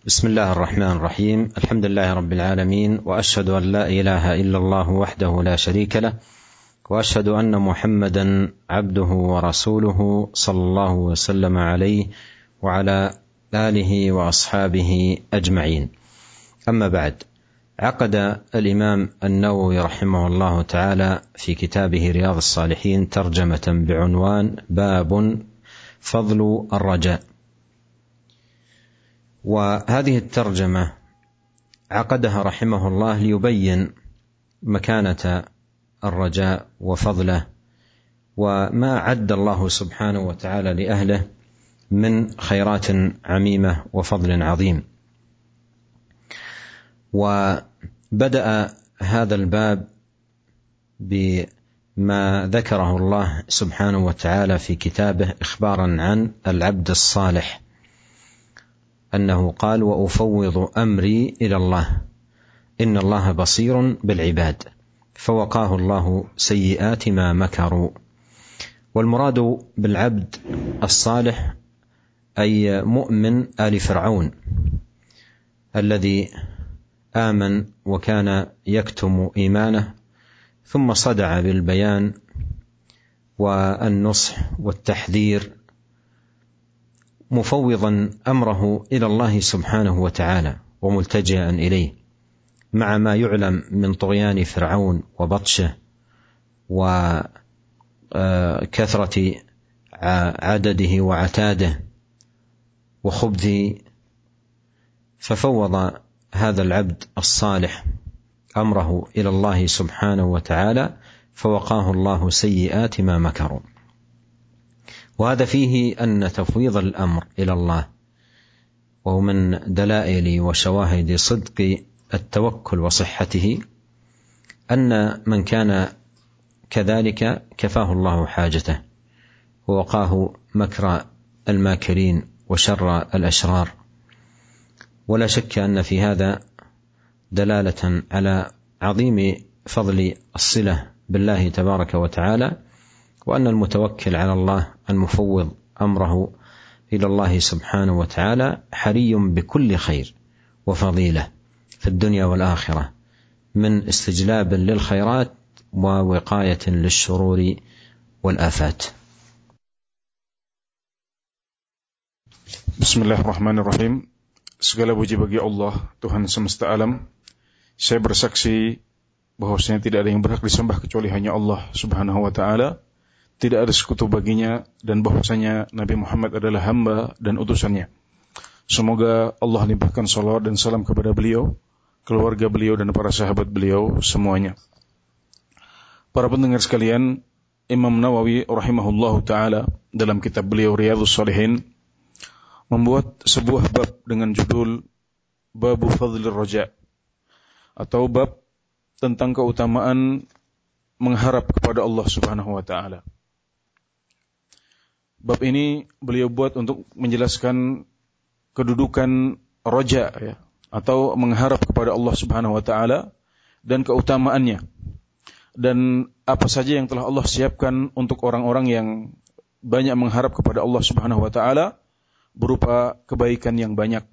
بسم الله الرحمن الرحيم. الحمد لله رب العالمين، وأشهد أن لا إله إلا الله وحده لا شريك له، وأشهد أن محمدا عبده ورسوله صلى الله وسلم عليه وعلى آله وأصحابه أجمعين. أما بعد، عقد الإمام النووي رحمه الله تعالى في كتابه رياض الصالحين ترجمة بعنوان باب فضل الرجاء. وهذه الترجمة عقدها رحمه الله ليبين مكانة الرجاء وفضله، وما أعد الله سبحانه وتعالى لأهله من خيرات عميمة وفضل عظيم. وبدأ هذا الباب بما ذكره الله سبحانه وتعالى في كتابه إخبارا عن العبد الصالح، أنه قال: وأفوض أمري إلى الله إن الله بصير بالعباد، فوقاه الله سيئات ما مكروا. والمراد بالعبد الصالح أي مؤمن آل فرعون الذي آمن وكان يكتم إيمانه، ثم صدع بالبيان والنصح والتحذير، مفوضا أمره إلى الله سبحانه وتعالى وملتجئا إليه، مع ما يعلم من طغيان فرعون وبطشه وكثرة عدده وعتاده وخبثه. ففوض هذا العبد الصالح أمره إلى الله سبحانه وتعالى، فوقاه الله سيئات ما مكروا. وهذا فيه أن تفويض الأمر إلى الله وهو من دلائل وشواهد صدق التوكل وصحته، أن من كان كذلك كفاه الله حاجته ووقاه مكر الماكرين وشر الأشرار. ولا شك أن في هذا دلالة على عظيم فضل الصلة بالله تبارك وتعالى، وأن المتوكل على الله المفوض أمره إلى الله سبحانه وتعالى حري بكل خير وفضيلة في الدنيا والآخرة، من استجلاب للخيرات ووقاية للشرور والآفات. Bismillahirrahmanirrahim. Segala puji bagi Allah, Tuhan semesta alam. Saya bersaksi bahwasanya tidak ada yang berhak disembah kecuali hanya Allah Subhanahu wa taala. Tidak ada sekutu baginya, dan bahwasanya Nabi Muhammad adalah hamba dan utusannya. Semoga Allah limpahkan salawat dan salam kepada beliau, keluarga beliau dan para sahabat beliau semuanya. Para pendengar sekalian, Imam Nawawi rahimahullahu taala dalam kitab beliau Riyadhus Shalihin membuat sebuah bab dengan judul Babu Fadlir Raja, atau bab tentang keutamaan mengharap kepada Allah Subhanahu wa taala. Bab ini beliau buat untuk menjelaskan kedudukan roja, ya, atau mengharap kepada Allah Subhanahu wa taala dan keutamaannya, dan apa saja yang telah Allah siapkan untuk orang-orang yang banyak mengharap kepada Allah Subhanahu wa taala berupa kebaikan yang banyak.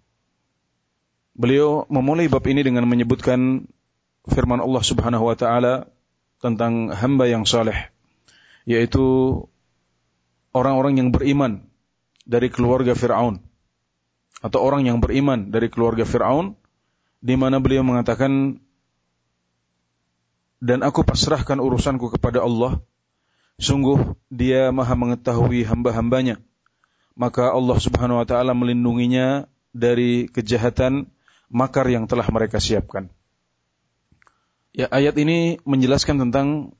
Beliau memulai bab ini dengan menyebutkan firman Allah Subhanahu wa taala tentang hamba yang saleh, yaitu orang-orang yang beriman dari keluarga Fir'aun, atau orang yang beriman dari keluarga Fir'aun, di mana beliau mengatakan, dan aku pasrahkan urusanku kepada Allah, sungguh Dia Maha mengetahui hamba-hambanya, maka Allah Subhanahu wa taala melindunginya dari kejahatan makar yang telah mereka siapkan. Ya, ayat ini menjelaskan tentang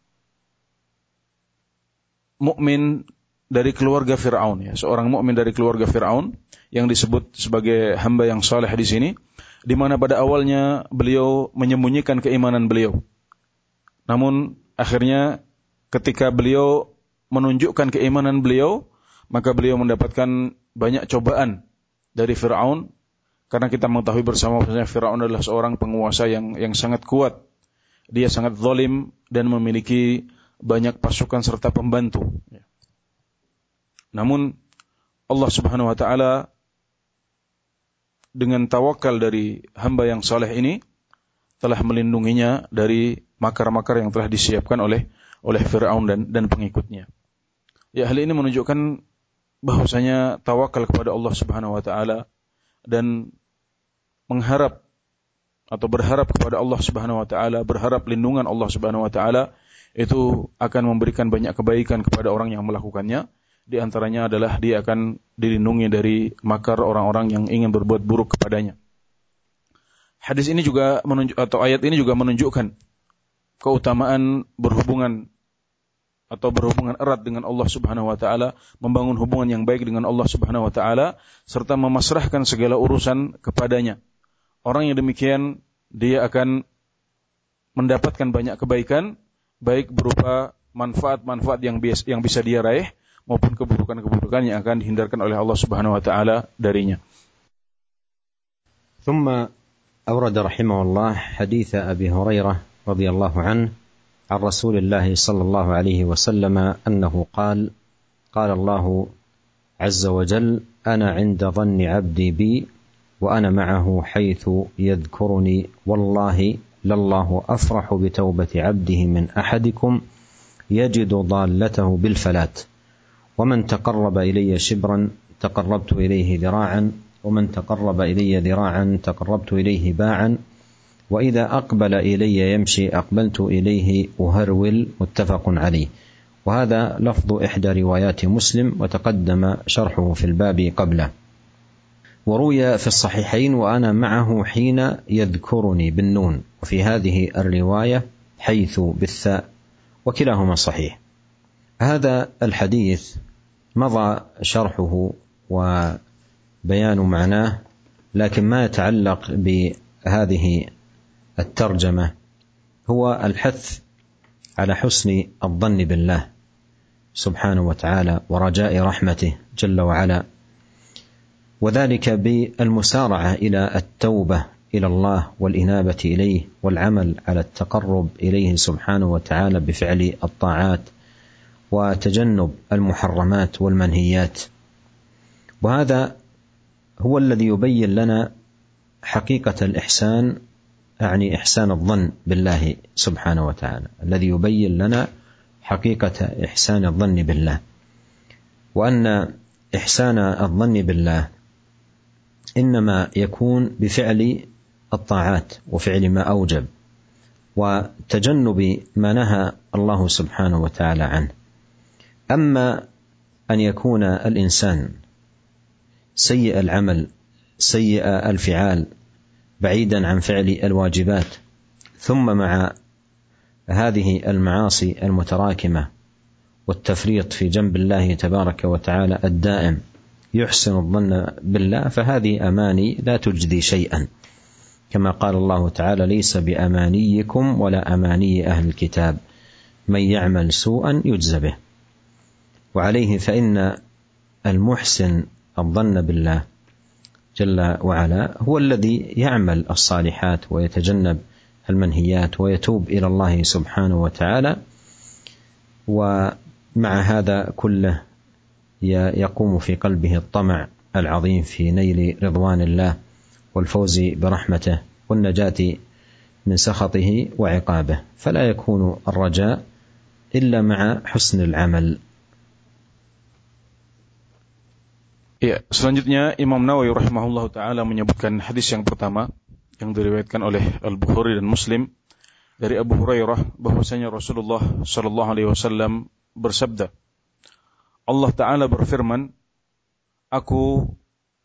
mukmin dari keluarga Fir'aun, ya, seorang mukmin dari keluarga Fir'aun yang disebut sebagai hamba yang saleh di sini, di mana pada awalnya beliau menyembunyikan keimanan beliau. Namun akhirnya ketika beliau menunjukkan keimanan beliau, maka beliau mendapatkan banyak cobaan dari Fir'aun, karena kita mengetahui bersama bahwa Fir'aun adalah seorang penguasa yang sangat kuat. Dia sangat zalim dan memiliki banyak pasukan serta pembantu. Namun Allah Subhanahu wa taala dengan tawakal dari hamba yang saleh ini telah melindunginya dari makar-makar yang telah disiapkan oleh Firaun dan pengikutnya. Ya, hal ini menunjukkan bahwasanya tawakal kepada Allah Subhanahu wa taala dan mengharap atau berharap kepada Allah Subhanahu wa taala, berharap lindungan Allah Subhanahu wa taala itu akan memberikan banyak kebaikan kepada orang yang melakukannya. Di antaranya adalah dia akan dilindungi dari makar orang-orang yang ingin berbuat buruk kepadanya. Hadis ini juga ayat ini juga menunjukkan keutamaan berhubungan erat dengan Allah Subhanahu wa taala, membangun hubungan yang baik dengan Allah Subhanahu wa taala serta memasrahkan segala urusan kepadanya. Orang yang demikian dia akan mendapatkan banyak kebaikan, baik berupa manfaat-manfaat yang bisa dia raih maupun keburukan-keburukan yang akan dihindarkan oleh Allah Subhanahu wa taala darinya. ثم أورد رحمه الله حديث أبي هريرة رضي الله عنه عن رسول الله صلى الله عليه وسلم أنه قال الله عز وجل أنا عند ظن عبدي بي وأنا معه حيث يذكرني والله لله أفرح بتوبة عبده من أحدكم يجد ضالته بالفلات ومن تقرب إلي شبرا تقربت إليه ذراعا ومن تقرب إلي ذراعا تقربت إليه باعا وإذا أقبل إلي يمشي أقبلت إليه أهرول متفق عليه. وهذا لفظ إحدى روايات مسلم وتقدم شرحه في الباب قبله. وروي في الصحيحين وأنا معه حين يذكرني بالنون وفي هذه الرواية حيث بالثاء وكلاهما صحيح. هذا الحديث مضى شرحه وبيان معناه، لكن ما يتعلق بهذه الترجمة هو الحث على حسن الظن بالله سبحانه وتعالى ورجاء رحمته جل وعلا، وذلك بالمسارعة إلى التوبة إلى الله والإنابة إليه والعمل على التقرب إليه سبحانه وتعالى بفعل الطاعات وتجنب المحرمات والمنهيات. وهذا هو الذي يبين لنا حقيقة الإحسان، يعني إحسان الظن بالله سبحانه وتعالى، الذي يبين لنا حقيقة إحسان الظن بالله، وأن إحسان الظن بالله إنما يكون بفعل الطاعات وفعل ما أوجب وتجنب ما نهى الله سبحانه وتعالى عنه. أما أن يكون الإنسان سيء العمل سيء الفعال بعيدا عن فعل الواجبات ثم مع هذه المعاصي المتراكمة والتفريط في جنب الله تبارك وتعالى الدائم يحسن الظن بالله، فهذه أماني لا تجدي شيئا، كما قال الله تعالى ليس بأمانيكم ولا أماني أهل الكتاب من يعمل سوءا يجز به. وعليه فإن المحسن الظن بالله جل وعلا هو الذي يعمل الصالحات ويتجنب المنهيات ويتوب إلى الله سبحانه وتعالى، ومع هذا كله يقوم في قلبه الطمع العظيم في نيل رضوان الله والفوز برحمته والنجاة من سخطه وعقابه، فلا يكون الرجاء إلا مع حسن العمل. Ya, selanjutnya Imam Nawawi rahimahullah ta'ala menyebutkan hadis yang pertama yang diriwayatkan oleh Al-Bukhari dan Muslim dari Abu Hurairah bahwasanya Rasulullah sallallahu alaihi wasallam bersabda, Allah Ta'ala berfirman, aku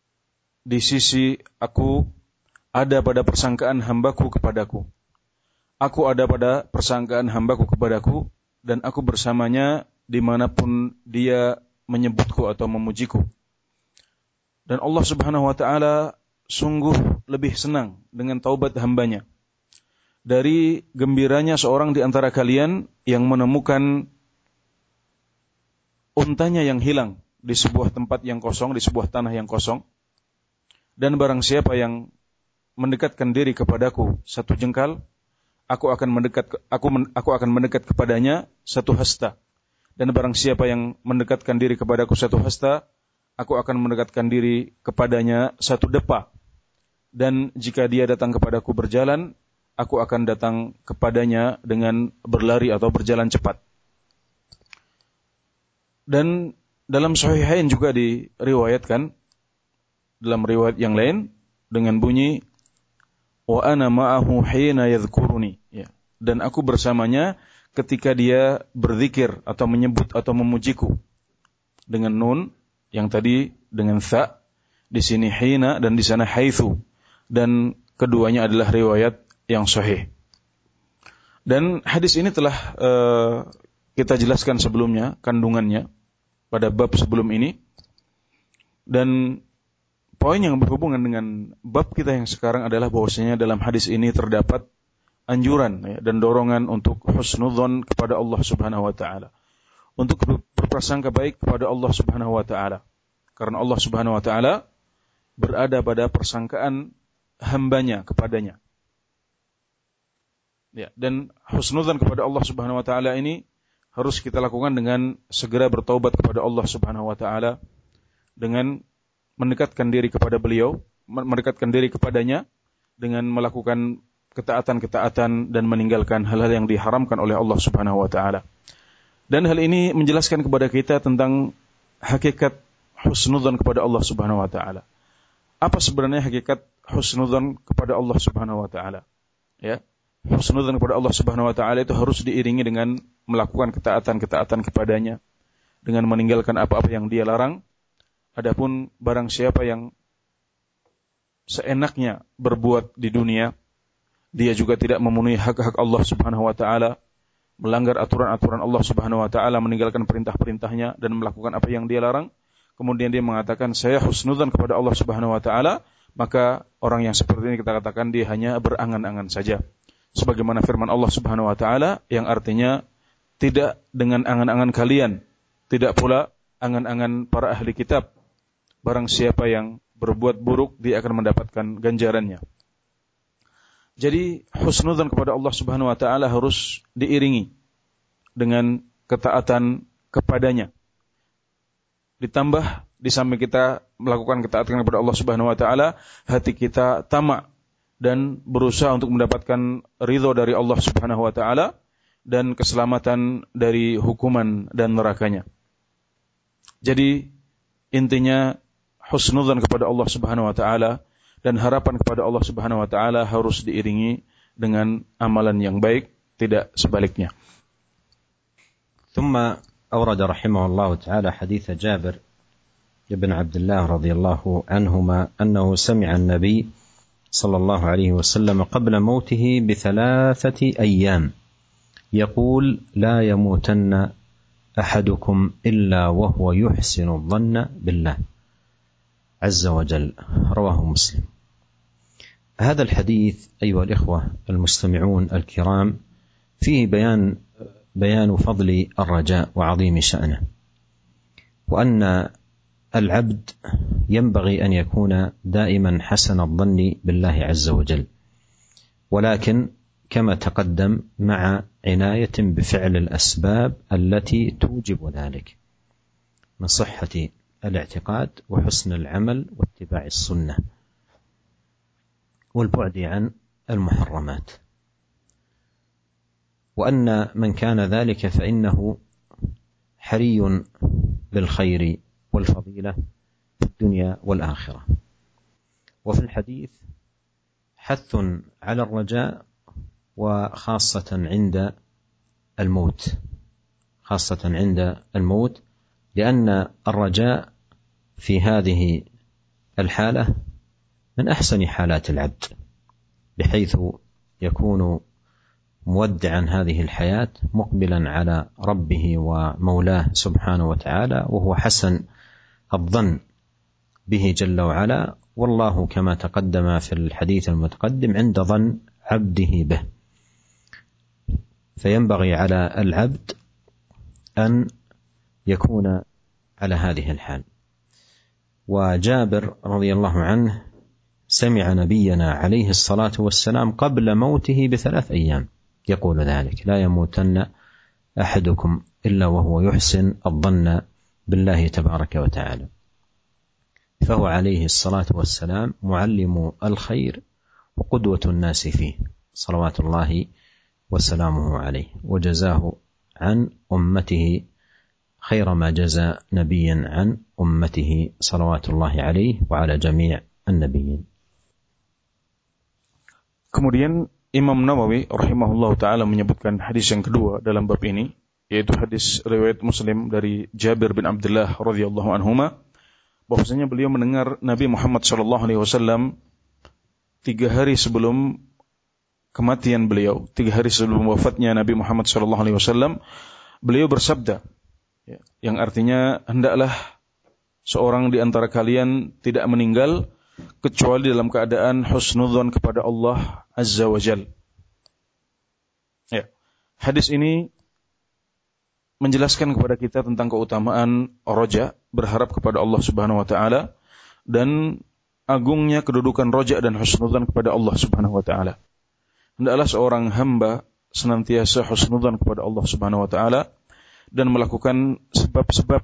ada pada persangkaan hambaku kepadaku. Aku ada pada persangkaan hambaku kepadaku dan aku bersamanya dimanapun dia menyebutku atau memujiku. Dan Allah Subhanahu wa ta'ala sungguh lebih senang dengan taubat hambanya dari gembiranya seorang di antara kalian yang menemukan untanya yang hilang di sebuah tempat yang kosong, di sebuah tanah yang kosong. Dan barang siapa yang mendekatkan diri kepadaku satu jengkal, aku akan mendekat kepadanya satu hasta. Dan barang siapa yang mendekatkan diri kepadaku satu hasta, aku akan mendekatkan diri kepadanya satu depa. dan jika dia datang kepadaku berjalan, aku akan datang kepadanya dengan berlari atau berjalan cepat. Dan dalam Sahihain juga diriwayatkan, dalam riwayat yang lain dengan bunyi wa ana ma'ahu hina yadhkuruni, ya. Dan aku bersamanya ketika dia berzikir atau menyebut atau memujiku, dengan nun yang tadi dengan tha, di sini hina dan di sana haitsu, dan keduanya adalah riwayat yang sahih. Dan hadis ini telah kita jelaskan sebelumnya kandungannya pada bab sebelum ini, dan poin yang berhubungan dengan bab kita yang sekarang adalah bahwasanya dalam hadis ini terdapat anjuran, ya, dan dorongan untuk husnudzon kepada Allah Subhanahu wa taala, untuk berprasangka baik kepada Allah Subhanahu wa taala, karena Allah Subhanahu wa taala berada pada persangkaan hambanya kepadanya. Ya, dan husnudzon kepada Allah Subhanahu wa taala ini harus kita lakukan dengan segera bertaubat kepada Allah Subhanahu wa taala, dengan mendekatkan diri kepada beliau, mendekatkan diri kepadanya dengan melakukan ketaatan-ketaatan dan meninggalkan hal-hal yang diharamkan oleh Allah Subhanahu wa taala. Dan hal ini menjelaskan kepada kita tentang hakikat husnudzon kepada Allah Subhanahu wa taala. Apa sebenarnya hakikat husnudzon kepada Allah Subhanahu wa taala? Ya. Husnudzon kepada Allah Subhanahu wa taala itu harus diiringi dengan melakukan ketaatan-ketaatan kepadanya, dengan meninggalkan apa-apa yang dia larang. Adapun barang siapa yang seenaknya berbuat di dunia, dia juga tidak memenuhi hak-hak Allah Subhanahu wa taala, melanggar aturan-aturan Allah Subhanahu wa taala, meninggalkan perintah-perintahnya dan melakukan apa yang dia larang, kemudian dia mengatakan saya husnudzon kepada Allah Subhanahu wa taala, maka orang yang seperti ini kita katakan dia hanya berangan-angan saja. Sebagaimana firman Allah Subhanahu wa taala yang artinya tidak dengan angan-angan kalian, tidak pula angan-angan para ahli kitab. Barang siapa yang berbuat buruk, dia akan mendapatkan ganjarannya. Jadi husnudzon kepada Allah Subhanahu wa taala harus diiringi dengan ketaatan kepadanya. Ditambah di samping kita melakukan ketaatan kepada Allah Subhanahu wa taala, hati kita tamak dan berusaha untuk mendapatkan ridho dari Allah Subhanahu wa taala dan keselamatan dari hukuman dan nerakanya. Jadi intinya husnudzon kepada Allah Subhanahu wa taala dan harapan kepada Allah Subhanahu wa taala harus diiringi dengan amalan yang baik, tidak sebaliknya. ثم أورد رحمه الله تعالى حديث جابر بن عبد الله رضي الله عنهما أنه سمع النبي صلى الله عليه وسلم قبل موته ب3 أيام يقول لا يموتن أحدكم إلا وهو يحسن الظن بالله عز وجل رواه مسلم. هذا الحديث أيها الإخوة المستمعون الكرام فيه بيان فضل الرجاء وعظيم شأنه، وأن العبد ينبغي أن يكون دائما حسن الظن بالله عز وجل، ولكن كما تقدم مع عناية بفعل الأسباب التي توجب ذلك من صحة الاعتقاد وحسن العمل واتباع السنة والبعد عن المحرمات. وأن من كان ذلك فإنه حري بالخير والفضيلة في الدنيا والآخرة. وفي الحديث حث على الرجاء، وخاصة عند الموت، خاصة عند الموت، لأن الرجاء في هذه الحالة من أحسن حالات العبد، بحيث يكون مودعا هذه الحياة مقبلا على ربه ومولاه سبحانه وتعالى، وهو حسن الظن به جل وعلا، والله كما تقدم في الحديث المتقدم عند ظن عبده به. فينبغي على العبد أن يكون على هذه الحال. وجابر رضي الله عنه سمع نبينا عليه الصلاة والسلام قبل موته ب3 أيام يقول ذلك: لا يموتن أحدكم إلا وهو يحسن الظن بالله تبارك وتعالى. فهو عليه الصلاة والسلام معلم الخير وقدوة الناس فيه صلوات الله وسلامه عليه، وجزاه عن أمته خير ما جزى نبيا عن أمته صلوات الله عليه وعلى جميع النبيين. Kemudian Imam Nawawi rahimahullah ta'ala menyebutkan hadis yang kedua dalam bab ini, yaitu hadis riwayat Muslim dari Jabir bin Abdullah radhiyallahu anhuma, bahwasanya beliau mendengar Nabi Muhammad sallallahu alaihi wasallam 3 hari sebelum kematian beliau, 3 hari sebelum wafatnya Nabi Muhammad sallallahu alaihi wasallam, beliau bersabda, yang artinya hendaklah seorang di antara kalian tidak meninggal kecuali dalam keadaan husnudzon kepada Allah Azza wa Jal. Ya. Hadis ini menjelaskan kepada kita tentang keutamaan roja, berharap kepada Allah Subhanahu wa taala, dan agungnya kedudukan roja dan husnudzon kepada Allah Subhanahu wa taala. Hendaklah seorang hamba senantiasa husnudzon kepada Allah Subhanahu wa taala dan melakukan sebab-sebab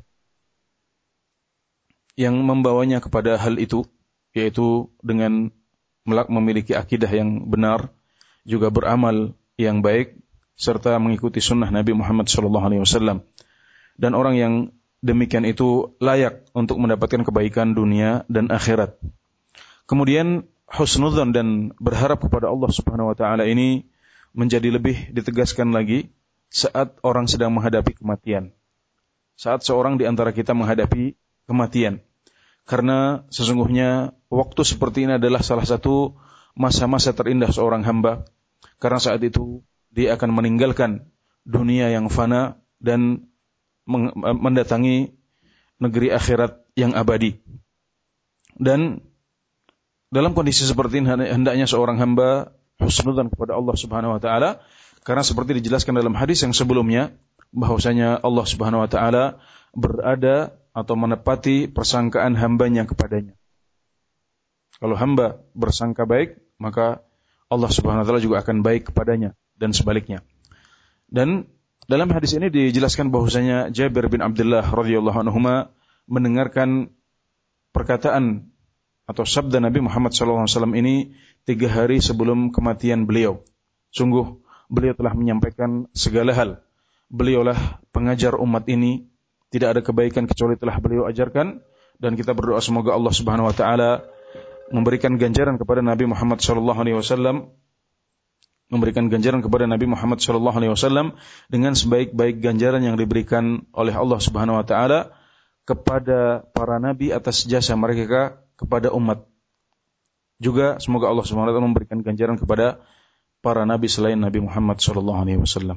yang membawanya kepada hal itu, yaitu dengan memiliki akidah yang benar, juga beramal yang baik, serta mengikuti sunnah Nabi Muhammad SAW. Dan orang yang demikian itu layak untuk mendapatkan kebaikan dunia dan akhirat. Kemudian husnudzon dan berharap kepada Allah Subhanahu wa taala ini menjadi lebih ditegaskan lagi saat orang sedang menghadapi kematian. Saat seorang di antara kita menghadapi kematian. Karena sesungguhnya waktu seperti ini adalah salah satu masa-masa terindah seorang hamba. Karena saat itu dia akan meninggalkan dunia yang fana dan mendatangi negeri akhirat yang abadi. Dan dalam kondisi seperti ini hendaknya seorang hamba husnudzon kepada Allah Subhanahu wa taala, karena seperti dijelaskan dalam hadis yang sebelumnya bahwasanya Allah Subhanahu wa taala berada atau menepati persangkaan hambanya kepadanya. Kalau hamba bersangka baik, maka Allah Subhanahu wa taala juga akan baik kepadanya dan sebaliknya. Dan dalam hadis ini dijelaskan bahwasanya Jabir bin Abdullah radhiyallahu anhuma mendengarkan perkataan atau sabda Nabi Muhammad sallallahu alaihi wasallam ini 3 hari sebelum kematian beliau. Sungguh beliau telah menyampaikan segala hal. Beliaulah pengajar umat ini. Tidak ada kebaikan kecuali telah beliau ajarkan, dan kita berdoa semoga Allah Subhanahu wa taala memberikan ganjaran kepada Nabi Muhammad sallallahu alaihi wasallam, memberikan ganjaran kepada Nabi Muhammad sallallahu alaihi wasallam dengan sebaik-baik ganjaran yang diberikan oleh Allah Subhanahu wa taala kepada para nabi atas jasa mereka kepada umat. Juga semoga Allah Subhanahu wa taala memberikan ganjaran kepada para nabi selain Nabi Muhammad sallallahu alaihi wasallam.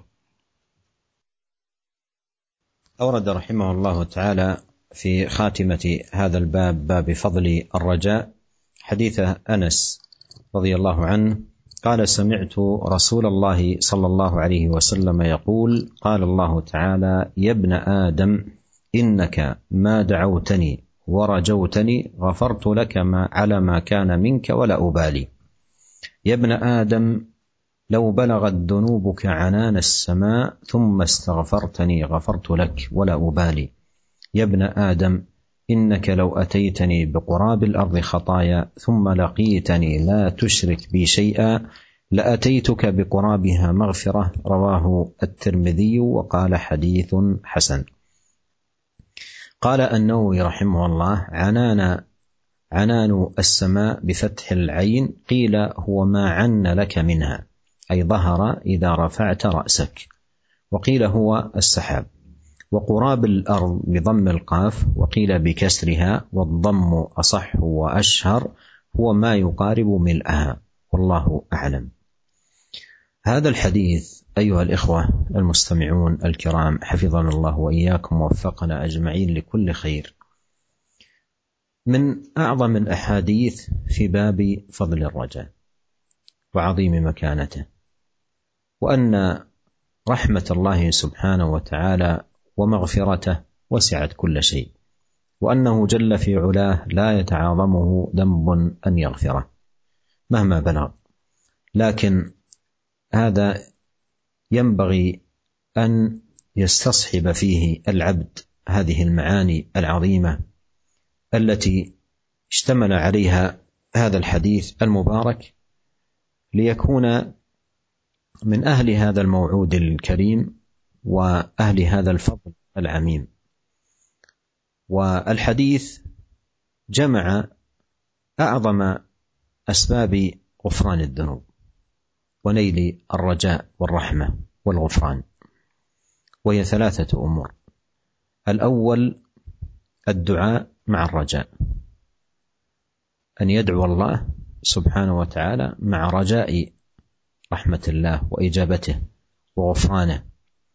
أورد رحمه الله تعالى في خاتمة هذا الباب، باب فضل الرجاء، حديث أنس رضي الله عنه قال: سمعت رسول الله صلى الله عليه وسلم يقول: قال الله تعالى: يا ابن آدم إنك ما دعوتني ورجوتني غفرت لك على ما كان منك ولا أبالي. يا ابن آدم لو بلغت ذنوبك عنان السماء ثم استغفرتني غفرت لك ولا أبالي. يا ابن آدم إنك لو أتيتني بقراب الأرض خطايا ثم لقيتني لا تشرك بي شيئا لأتيتك بقرابها مغفرة. رواه الترمذي وقال حديث حسن. قال النووي رحمه الله: عنان السماء بفتح العين قيل هو ما عن لك منها، أي ظهر إذا رفعت رأسك، وقيل هو السحاب. وقراب الأرض بضم القاف وقيل بكسرها، والضم أصح وأشهر، هو ما يقارب ملئها، والله أعلم. هذا الحديث أيها الإخوة المستمعون الكرام حفظنا الله وإياكم ووفقنا أجمعين لكل خير، من أعظم الأحاديث في باب فضل الرجاء وعظيم مكانته، وأن رحمة الله سبحانه وتعالى ومغفرته وسعت كل شيء، وأنه جل في علاه لا يتعاظمه ذنب أن يغفره مهما بلغ. لكن هذا ينبغي أن يستصحب فيه العبد هذه المعاني العظيمة التي اشتمل عليها هذا الحديث المبارك ليكون من أهل هذا الموعود الكريم وأهل هذا الفضل العميم. والحديث جمع أعظم أسباب غفران الذنوب ونيل الرجاء والرحمة والغفران، وهي 3 أمور. الأول الدعاء مع الرجاء، أن يدعو الله سبحانه وتعالى مع رجاء رحمة الله وإجابته وغفرانه،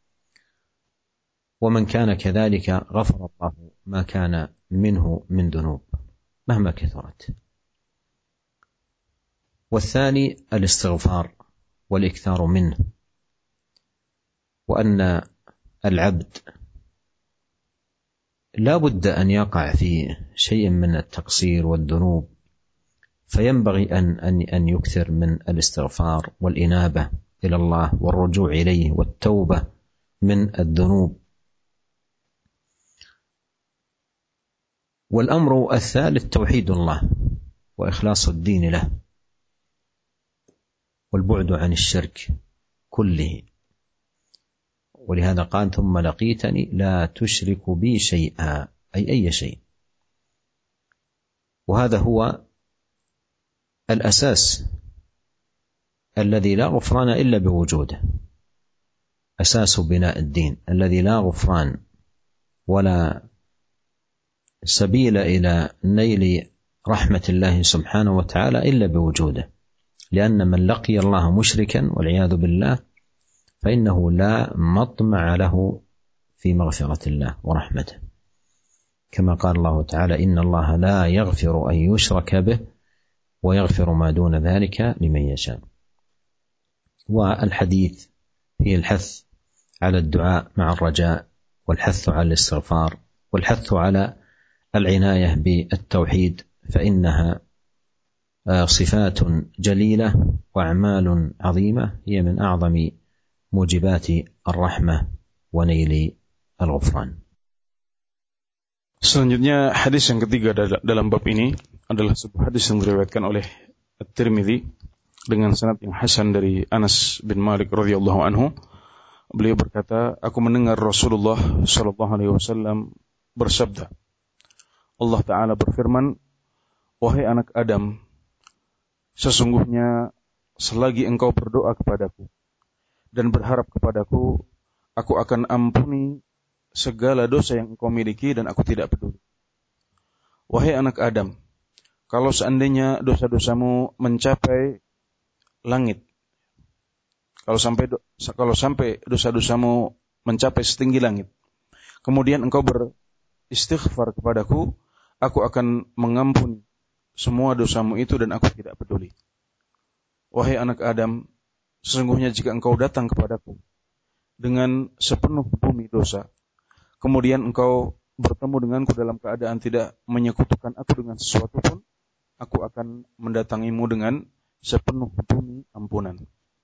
ومن كان كذلك غفر الله ما كان منه من ذنوب مهما كثرت. والثاني الاستغفار والإكثار منه، وأن العبد لا بد أن يقع في شيء من التقصير والذنوب، فينبغي أن يكثر من الاستغفار والإنابة إلى الله والرجوع إليه والتوبة من الذنوب. والأمر الثالث توحيد الله وإخلاص الدين له والبعد عن الشرك كله، ولهذا قال ثم لقيتني لا تشرك بي شيئا، أي شيء. وهذا هو الأساس الذي لا غفران إلا بوجوده، أساس بناء الدين الذي لا غفران ولا سبيل إلى نيل رحمة الله سبحانه وتعالى إلا بوجوده، لأن من لقي الله مشركا والعياذ بالله فإنه لا مطمع له في مغفرة الله ورحمته، كما قال الله تعالى إن الله لا يغفر أن يشرك به ويغفر ما دون ذلك لمن يشاء. والحديث فيه الحث على الدعاء مع الرجاء، والحث على الاستغفار، والحث على العناية بالتوحيد، فإنها صفات جليلة وأعمال عظيمة هي من أعظم موجبات الرحمة ونيل الغفران. Selanjutnya hadis yang ketiga dalam bab ini adalah sebuah hadis yang diriwayatkan oleh At-Tirmidzi dengan sanad yang hasan dari Anas bin Malik radhiyallahu anhu. Beliau berkata, aku mendengar Rasulullah sallallahu alaihi wasallam bersabda, Allah Ta'ala berfirman, wahai anak Adam, sesungguhnya selagi engkau berdoa kepadaku dan berharap kepadaku, aku akan ampuni segala dosa yang engkau miliki dan aku tidak peduli. Wahai anak Adam, kalau seandainya dosa-dosamu mencapai langit, kalau sampai dosa-dosamu mencapai setinggi langit, kemudian engkau beristighfar kepadaku, aku akan mengampuni semua dosamu itu dan aku tidak peduli. Wahai anak Adam, sesungguhnya jika engkau datang kepadaku dengan sepenuh bumi dosa, kemudian engkau bertemu denganku dalam keadaan tidak menyekutukan aku dengan sesuatu pun, aku akan mendatangimu dengan sepenuh bumi ampunan.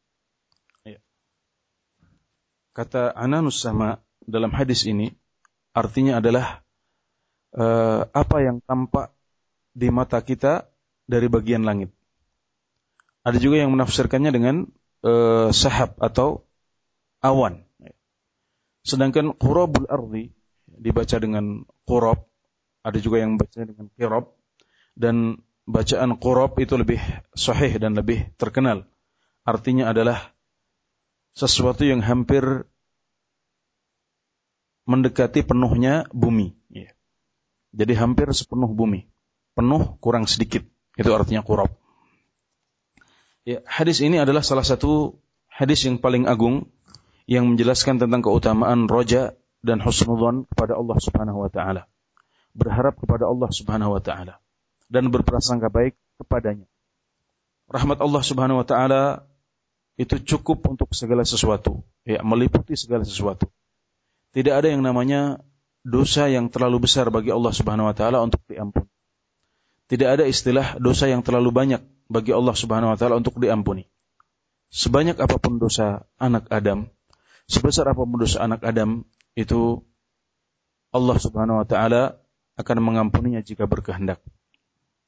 Kata Ananus Sama dalam hadis ini artinya adalah apa yang tampak di mata kita dari bagian langit. Ada juga yang menafsirkannya dengan sahab atau awan. Sedangkan qurabul ardi dibaca dengan qurab, ada juga yang baca dengan qirab, dan bacaan qurab itu lebih sahih dan lebih terkenal. Artinya adalah sesuatu yang hampir mendekati penuhnya bumi. Jadi hampir sepenuh bumi. Penuh kurang sedikit. Itu artinya qurab. Hadis ini adalah salah satu hadis yang paling agung yang menjelaskan tentang keutamaan roja dan husnudzon kepada Allah Subhanahu wa taala. Berharap kepada Allah Subhanahu wa taala dan berprasangka baik kepadanya. Rahmat Allah Subhanahu wa taala itu cukup untuk segala sesuatu, meliputi segala sesuatu. Tidak ada yang namanya dosa yang terlalu besar bagi Allah Subhanahu wa taala untuk diampuni. Tidak ada istilah dosa yang terlalu banyak bagi Allah Subhanahu wa taala untuk diampuni. Sebanyak apapun dosa anak Adam, sebesar apapun dosa anak Adam, itu Allah Subhanahu wa taala akan mengampuninya jika berkehendak.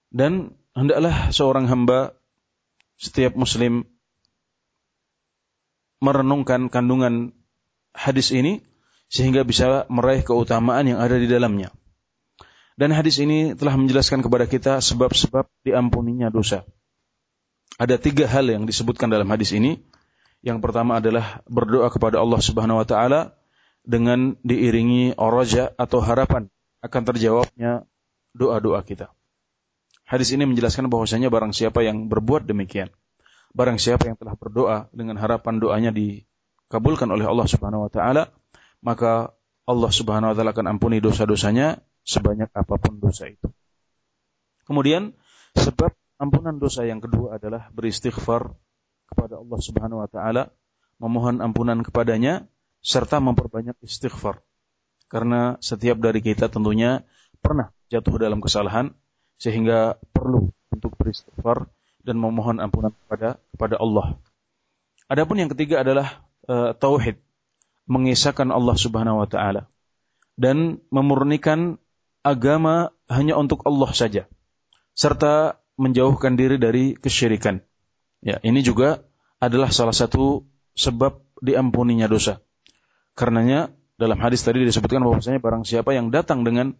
Dan hendaklah seorang hamba, setiap muslim, merenungkan kandungan hadis ini sehingga bisa meraih keutamaan yang ada di dalamnya. Dan hadis ini telah menjelaskan kepada kita sebab-sebab diampuninya dosa. Ada 3 hal yang disebutkan dalam hadis ini. Yang pertama adalah berdoa kepada Allah Subhanahu wa taala dengan diiringi raja atau harapan akan terjawabnya doa-doa kita. Hadis ini menjelaskan bahwasanya barang siapa yang berbuat demikian, barang siapa yang telah berdoa dengan harapan doanya dikabulkan oleh Allah Subhanahu wa taala, maka Allah Subhanahu wa taala akan ampuni dosa-dosanya sebanyak apapun dosa itu. Kemudian sebab ampunan dosa yang kedua adalah beristighfar kepada Allah Subhanahu wa taala, memohon ampunan kepadanya serta memperbanyak istighfar. Karena setiap dari kita tentunya pernah jatuh dalam kesalahan sehingga perlu untuk beristighfar dan memohon ampunan kepada Allah. Adapun yang ketiga adalah tauhid, mengesahkan Allah Subhanahu wa taala dan memurnikan agama hanya untuk Allah saja, serta menjauhkan diri dari kesyirikan. Ya, ini juga adalah salah satu sebab diampuninya dosa. Karenanya dalam hadis tadi disebutkan bahwasanya barang siapa yang datang dengan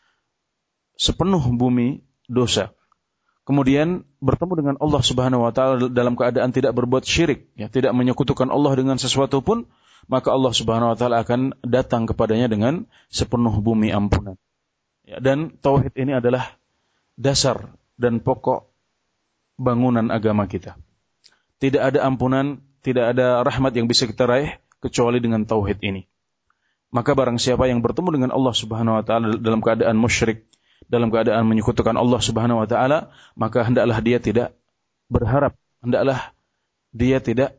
sepenuh bumi dosa, kemudian bertemu dengan Allah Subhanahu wa taala dalam keadaan tidak berbuat syirik, ya, tidak menyekutukan Allah dengan sesuatu pun, maka Allah Subhanahu wa taala akan datang kepadanya dengan sepenuh bumi ampunan. Ya, dan tauhid ini adalah dasar dan pokok bangunan agama kita. Tidak ada ampunan, tidak ada rahmat yang bisa kita raih kecuali dengan tauhid ini. Maka barang siapa yang bertemu dengan Allah Subhanahu wa taala dalam keadaan musyrik, dalam keadaan menyekutukan Allah Subhanahu wa taala, maka hendaklah dia tidak berharap, hendaklah dia tidak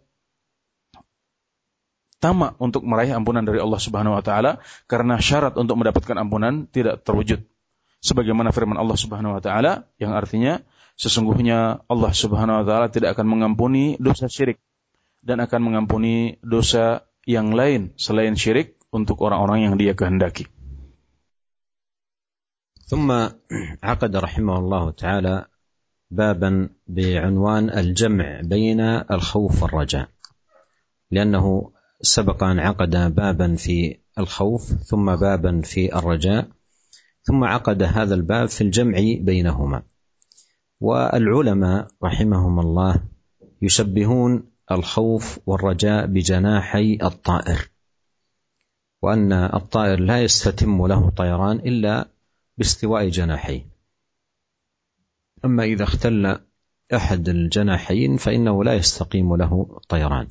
tamak untuk meraih ampunan dari Allah Subhanahu wa taala, karena syarat untuk mendapatkan ampunan tidak terwujud. Sebagaimana firman Allah Subhanahu wa taala yang artinya sesungguhnya Allah Subhanahu wa taala tidak akan mengampuni dosa syirik dan akan mengampuni dosa yang lain selain syirik untuk orang-orang yang dia kehendaki. ثم عقد رحمه الله تعالى بابا بعنوان الجمع بين الخوف والرجاء، لأنه سبق أن عقد بابا في الخوف ثم بابا في الرجاء ثم عقد هذا الباب في الجمع بينهما. والعلماء رحمهم الله يشبهون الخوف والرجاء بجناحي الطائر، وأن الطائر لا يستتم له طيران إلا باستواء جناحيه، أما إذا اختل أحد الجناحين فإنه لا يستقيم له طيران.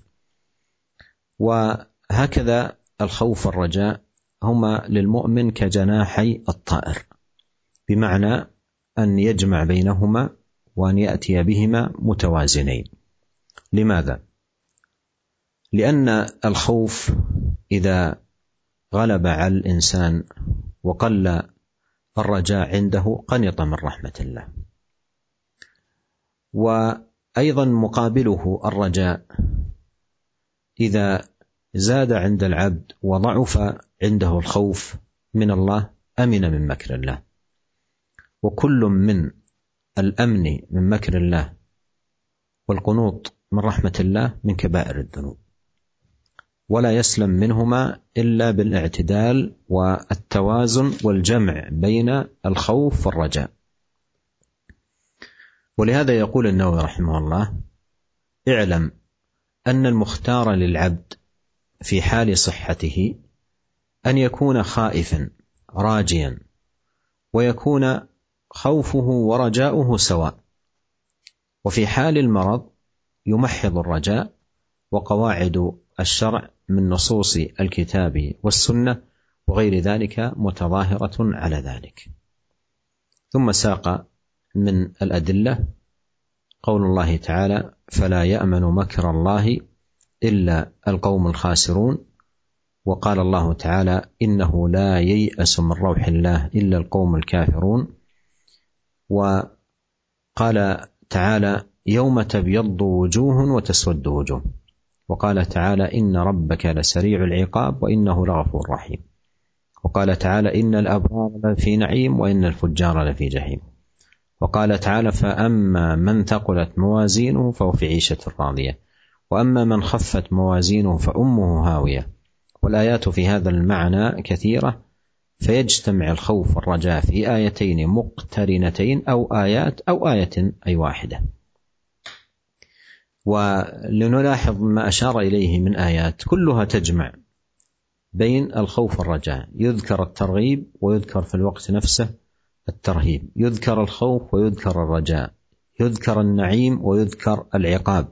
وهكذا الخوف والرجاء هما للمؤمن كجناحي الطائر، بمعنى أن يجمع بينهما وأن يأتي بهما متوازنين. لماذا؟ لأن الخوف إذا غلب على الإنسان وقل الرجاء عنده قنط من رحمة الله. وأيضا مقابله الرجاء إذا زاد عند العبد وضعف عنده الخوف من الله أمن من مكر الله. وكل من الأمن من مكر الله والقنوط من رحمة الله من كبائر الذنوب، ولا يسلم منهما إلا بالاعتدال والتوازن والجمع بين الخوف والرجاء. ولهذا يقول النووي رحمه الله: اعلم أن المختار للعبد في حال صحته أن يكون خائفا راجيا، ويكون خوفه ورجاؤه سواء، وفي حال المرض يمحض الرجاء، وقواعد الشرع من نصوص الكتاب والسنة وغير ذلك متظاهرة على ذلك. ثم ساق من الأدلة قول الله تعالى: فلا يأمن مكر الله إلا القوم الخاسرون. وقال الله تعالى: إنه لا ييأس من روح الله إلا القوم الكافرون. وقال تعالى: يوم تبيض وجوه وتسود وجوه. وقال تعالى: إن ربك لسريع العقاب وإنه لغفور رحيم. وقال تعالى: إن الأبرار لفي نعيم وإن الفجار لفي جحيم. وقال تعالى فأما من ثقلت موازينه فهو في عيشة راضية وأما من خفت موازينه فأمه هاوية. والآيات في هذا المعنى كثيرة، فيجتمع الخوف والرجاء في آيتين مقترنتين أو آية أي واحدة. ولنلاحظ ما أشار إليه من آيات كلها تجمع بين الخوف والرجاء، يذكر الترغيب ويذكر في الوقت نفسه الترهيب، يذكر الخوف ويذكر الرجاء، يذكر النعيم ويذكر العقاب،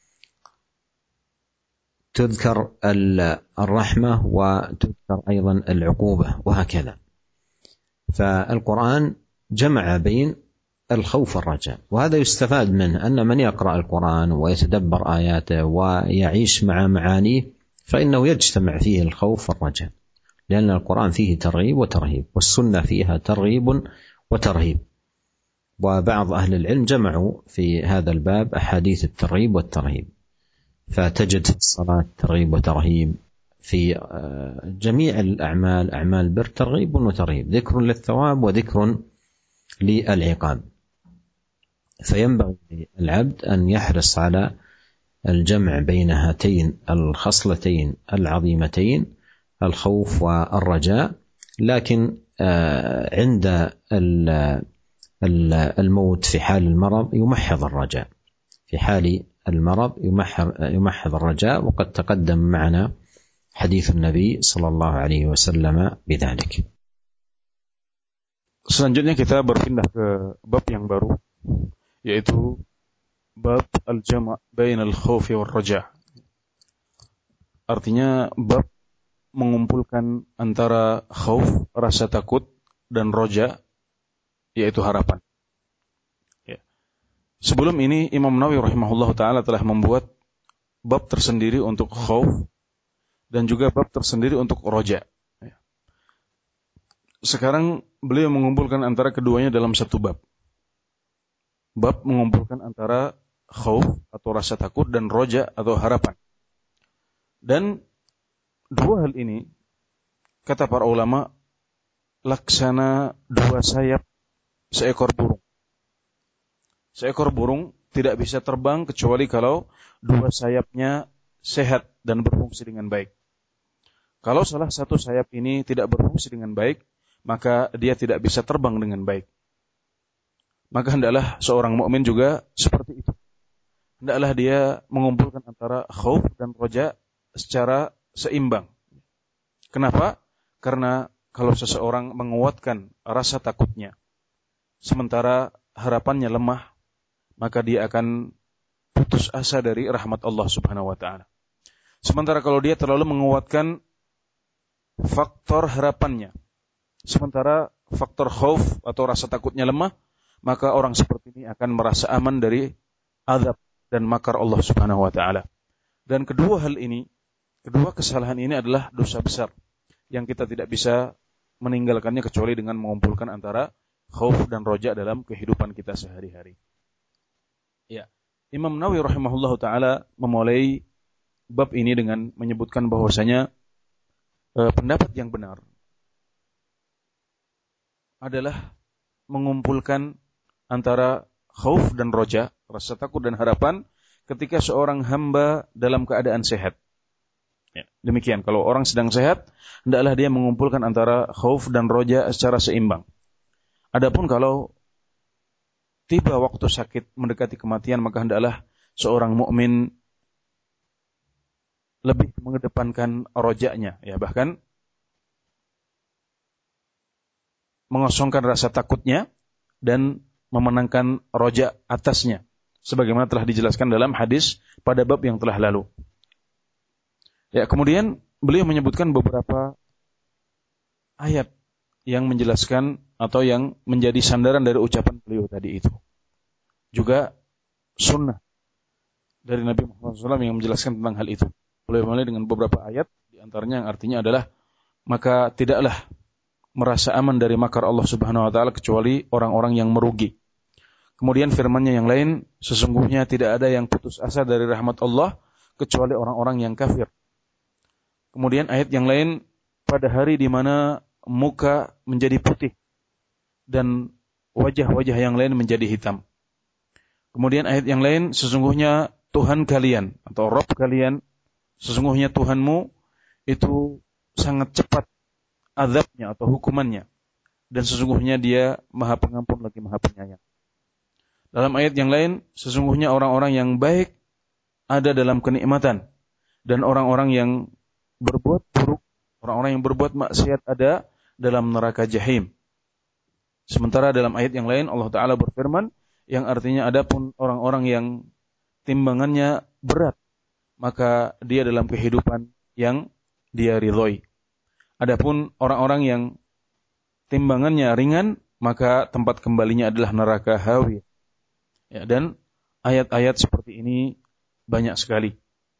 تذكر الرحمة وتذكر أيضا العقوبة، وهكذا. فالقرآن جمع بين الخوف والرجاء، وهذا يستفاد منه أن من يقرأ القرآن ويتدبر آياته ويعيش مع معانيه فإنه يجتمع فيه الخوف والرجاء، لأن القرآن فيه ترغيب وترهيب، والسنة فيها ترغيب وترهيب. وبعض أهل العلم جمعوا في هذا الباب أحاديث الترغيب والترهيب، فتجد في الصلاة ترغيب وترهيب، في جميع الأعمال أعمال بر ترغيب وترهيب، ذكر للثواب وذكر للعقاب. فينبغي للعبد أن يحرص على الجمع بين هاتين الخصلتين العظيمتين، الخوف والرجاء. لكن عند الموت في حال المرض يمحض الرجاء، في حال المرض يمحض الرجاء، وقد تقدم معنا حديث النبي صلى الله عليه وسلم بذلك. Selanjutnya kita berpindah ke bab yang baru, yaitu bab al-jama' bainal khaufi war raja'. Artinya bab mengumpulkan antara khauf, rasa takut, dan roja, yaitu harapan. Ya. Sebelum ini Imam Nawawi rahimahullah ta'ala telah membuat bab tersendiri untuk khauf dan juga bab tersendiri untuk roja. Ya. Sekarang beliau mengumpulkan antara keduanya dalam satu bab. Bab mengumpulkan antara khauf atau rasa takut dan roja atau harapan. Dan dua hal ini, kata para ulama, laksana dua sayap seekor burung. Seekor burung tidak bisa terbang kecuali kalau dua sayapnya sehat dan berfungsi dengan baik. Kalau salah satu sayap ini tidak berfungsi dengan baik, maka dia tidak bisa terbang dengan baik. Maka hendaklah seorang mukmin juga seperti itu. Hendaklah dia mengumpulkan antara khauf dan roja secara seimbang. Kenapa? Karena kalau seseorang menguatkan rasa takutnya, sementara harapannya lemah, maka dia akan putus asa dari rahmat Allah Subhanahu wa ta'ala. Sementara kalau dia terlalu menguatkan faktor harapannya, sementara faktor khauf atau rasa takutnya lemah, maka orang seperti ini akan merasa aman dari azab dan makar Allah Subhanahu wa ta'ala. Dan kedua hal ini, kedua kesalahan ini adalah dosa besar yang kita tidak bisa meninggalkannya kecuali dengan mengumpulkan antara khauf dan roja dalam kehidupan kita sehari-hari. Ya, Imam Nawawi rahimahullahu ta'ala memulai bab ini dengan menyebutkan bahwasanya pendapat yang benar adalah mengumpulkan antara khauf dan roja, rasa takut dan harapan ketika seorang hamba dalam keadaan sehat. Ya, demikian, kalau orang sedang sehat, hendaklah dia mengumpulkan antara khauf dan roja secara seimbang. Adapun kalau tiba waktu sakit mendekati kematian, maka hendaklah seorang mukmin lebih mengedepankan rojanya, ya, bahkan mengosongkan rasa takutnya dan memenangkan roja atasnya, sebagaimana telah dijelaskan dalam hadis pada bab yang telah lalu. Ya, kemudian beliau menyebutkan beberapa ayat yang menjelaskan atau yang menjadi sandaran dari ucapan beliau tadi itu. Juga sunnah dari Nabi Muhammad SAW yang menjelaskan tentang hal itu. Beliau mulai dengan beberapa ayat, di antaranya yang artinya adalah, maka tidaklah merasa aman dari makar Allah Subhanahu wa ta'ala kecuali orang-orang yang merugi. Kemudian firman-Nya yang lain, sesungguhnya tidak ada yang putus asa dari rahmat Allah kecuali orang-orang yang kafir. Kemudian ayat yang lain, pada hari di mana muka menjadi putih dan wajah-wajah yang lain menjadi hitam. Kemudian ayat yang lain, sesungguhnya Tuhan kalian atau Rabb kalian, sesungguhnya Tuhanmu itu sangat cepat azabnya atau hukumannya, dan sesungguhnya Dia Maha Pengampun lagi Maha Penyayang. Dalam ayat yang lain, sesungguhnya orang-orang yang baik ada dalam kenikmatan, dan orang-orang yang berbuat buruk, orang-orang yang berbuat maksiat ada dalam neraka jahim. Sementara dalam ayat yang lain Allah Ta'ala berfirman, yang artinya adapun orang-orang yang timbangannya berat, maka dia dalam kehidupan yang dia ridhoi. Adapun orang-orang yang timbangannya ringan, maka tempat kembalinya adalah neraka hawi. Ya, dan ayat-ayat seperti ini banyak sekali.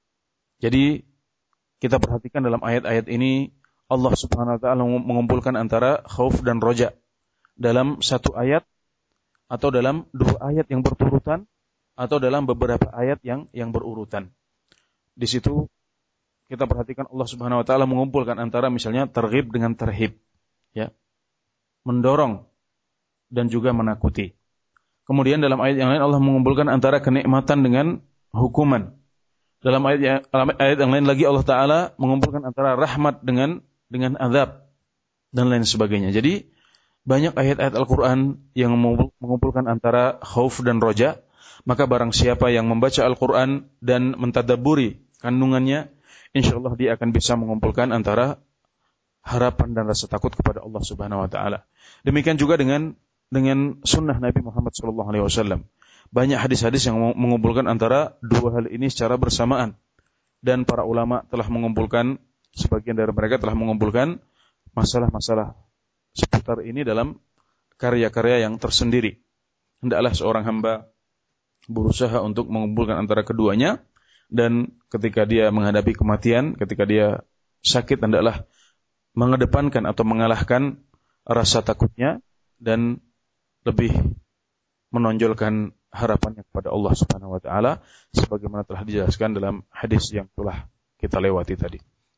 Jadi kita perhatikan dalam ayat-ayat ini Allah Subhanahu wa taala mengumpulkan antara khauf dan roja dalam satu ayat, atau dalam dua ayat yang berturutan, atau dalam beberapa ayat yang berurutan. Di situ kita perhatikan Allah Subhanahu wa taala mengumpulkan antara misalnya targhib dengan tarhib, ya. Mendorong dan juga menakuti. Kemudian dalam ayat yang lain Allah mengumpulkan antara kenikmatan dengan hukuman. Dalam ayat yang lain lagi Allah Ta'ala mengumpulkan antara rahmat dengan azab dan lain sebagainya. Jadi banyak ayat-ayat Al-Quran yang mengumpulkan antara khauf dan roja. Maka barang siapa yang membaca Al-Quran dan mentadabburi kandungannya, insyaallah dia akan bisa mengumpulkan antara harapan dan rasa takut kepada Allah Subhanahu Wa Ta'ala. Demikian juga dengan sunnah Nabi Muhammad SAW. Banyak hadis-hadis yang mengumpulkan antara dua hal ini secara bersamaan. Dan para ulama telah mengumpulkan, sebagian dari mereka telah mengumpulkan masalah-masalah seputar ini dalam karya-karya yang tersendiri. Hendaklah seorang hamba berusaha untuk mengumpulkan antara keduanya, dan ketika dia menghadapi kematian, ketika dia sakit, hendaklah mengedepankan atau mengalahkan rasa takutnya dan lebih menonjolkan harapannya kepada Allah Subhanahu wa taala sebagaimana telah dijelaskan dalam hadis yang telah kita lewati tadi.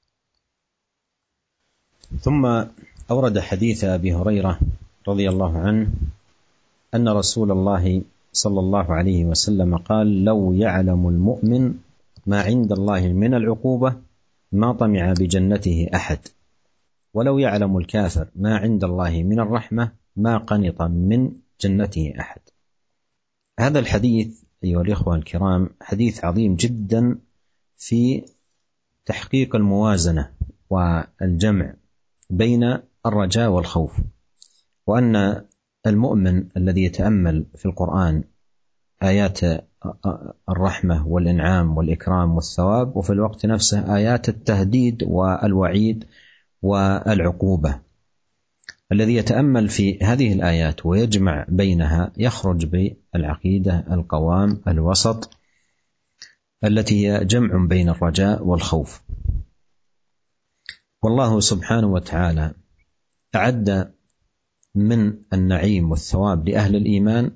ثم أورد حديث أبي هريرة رضي الله عنه أن رسول الله صلى الله عليه وسلم قال: لو يعلم المؤمن ما عند الله من العقوبة ما طمع بجنته أحد، ولو يعلم الكافر ما عند الله من الرحمة ما قنط من جنته أحد. هذا الحديث أيها الإخوة الكرام حديث عظيم جدا في تحقيق الموازنة والجمع بين الرجاء والخوف، وأن المؤمن الذي يتأمل في القرآن آيات الرحمة والإنعام والإكرام والثواب، وفي الوقت نفسه آيات التهديد والوعيد والعقوبة، الذي يتأمل في هذه الآيات ويجمع بينها يخرج بالعقيدة القوام الوسط التي هي جمع بين الرجاء والخوف. والله سبحانه وتعالى أعد من النعيم والثواب لأهل الإيمان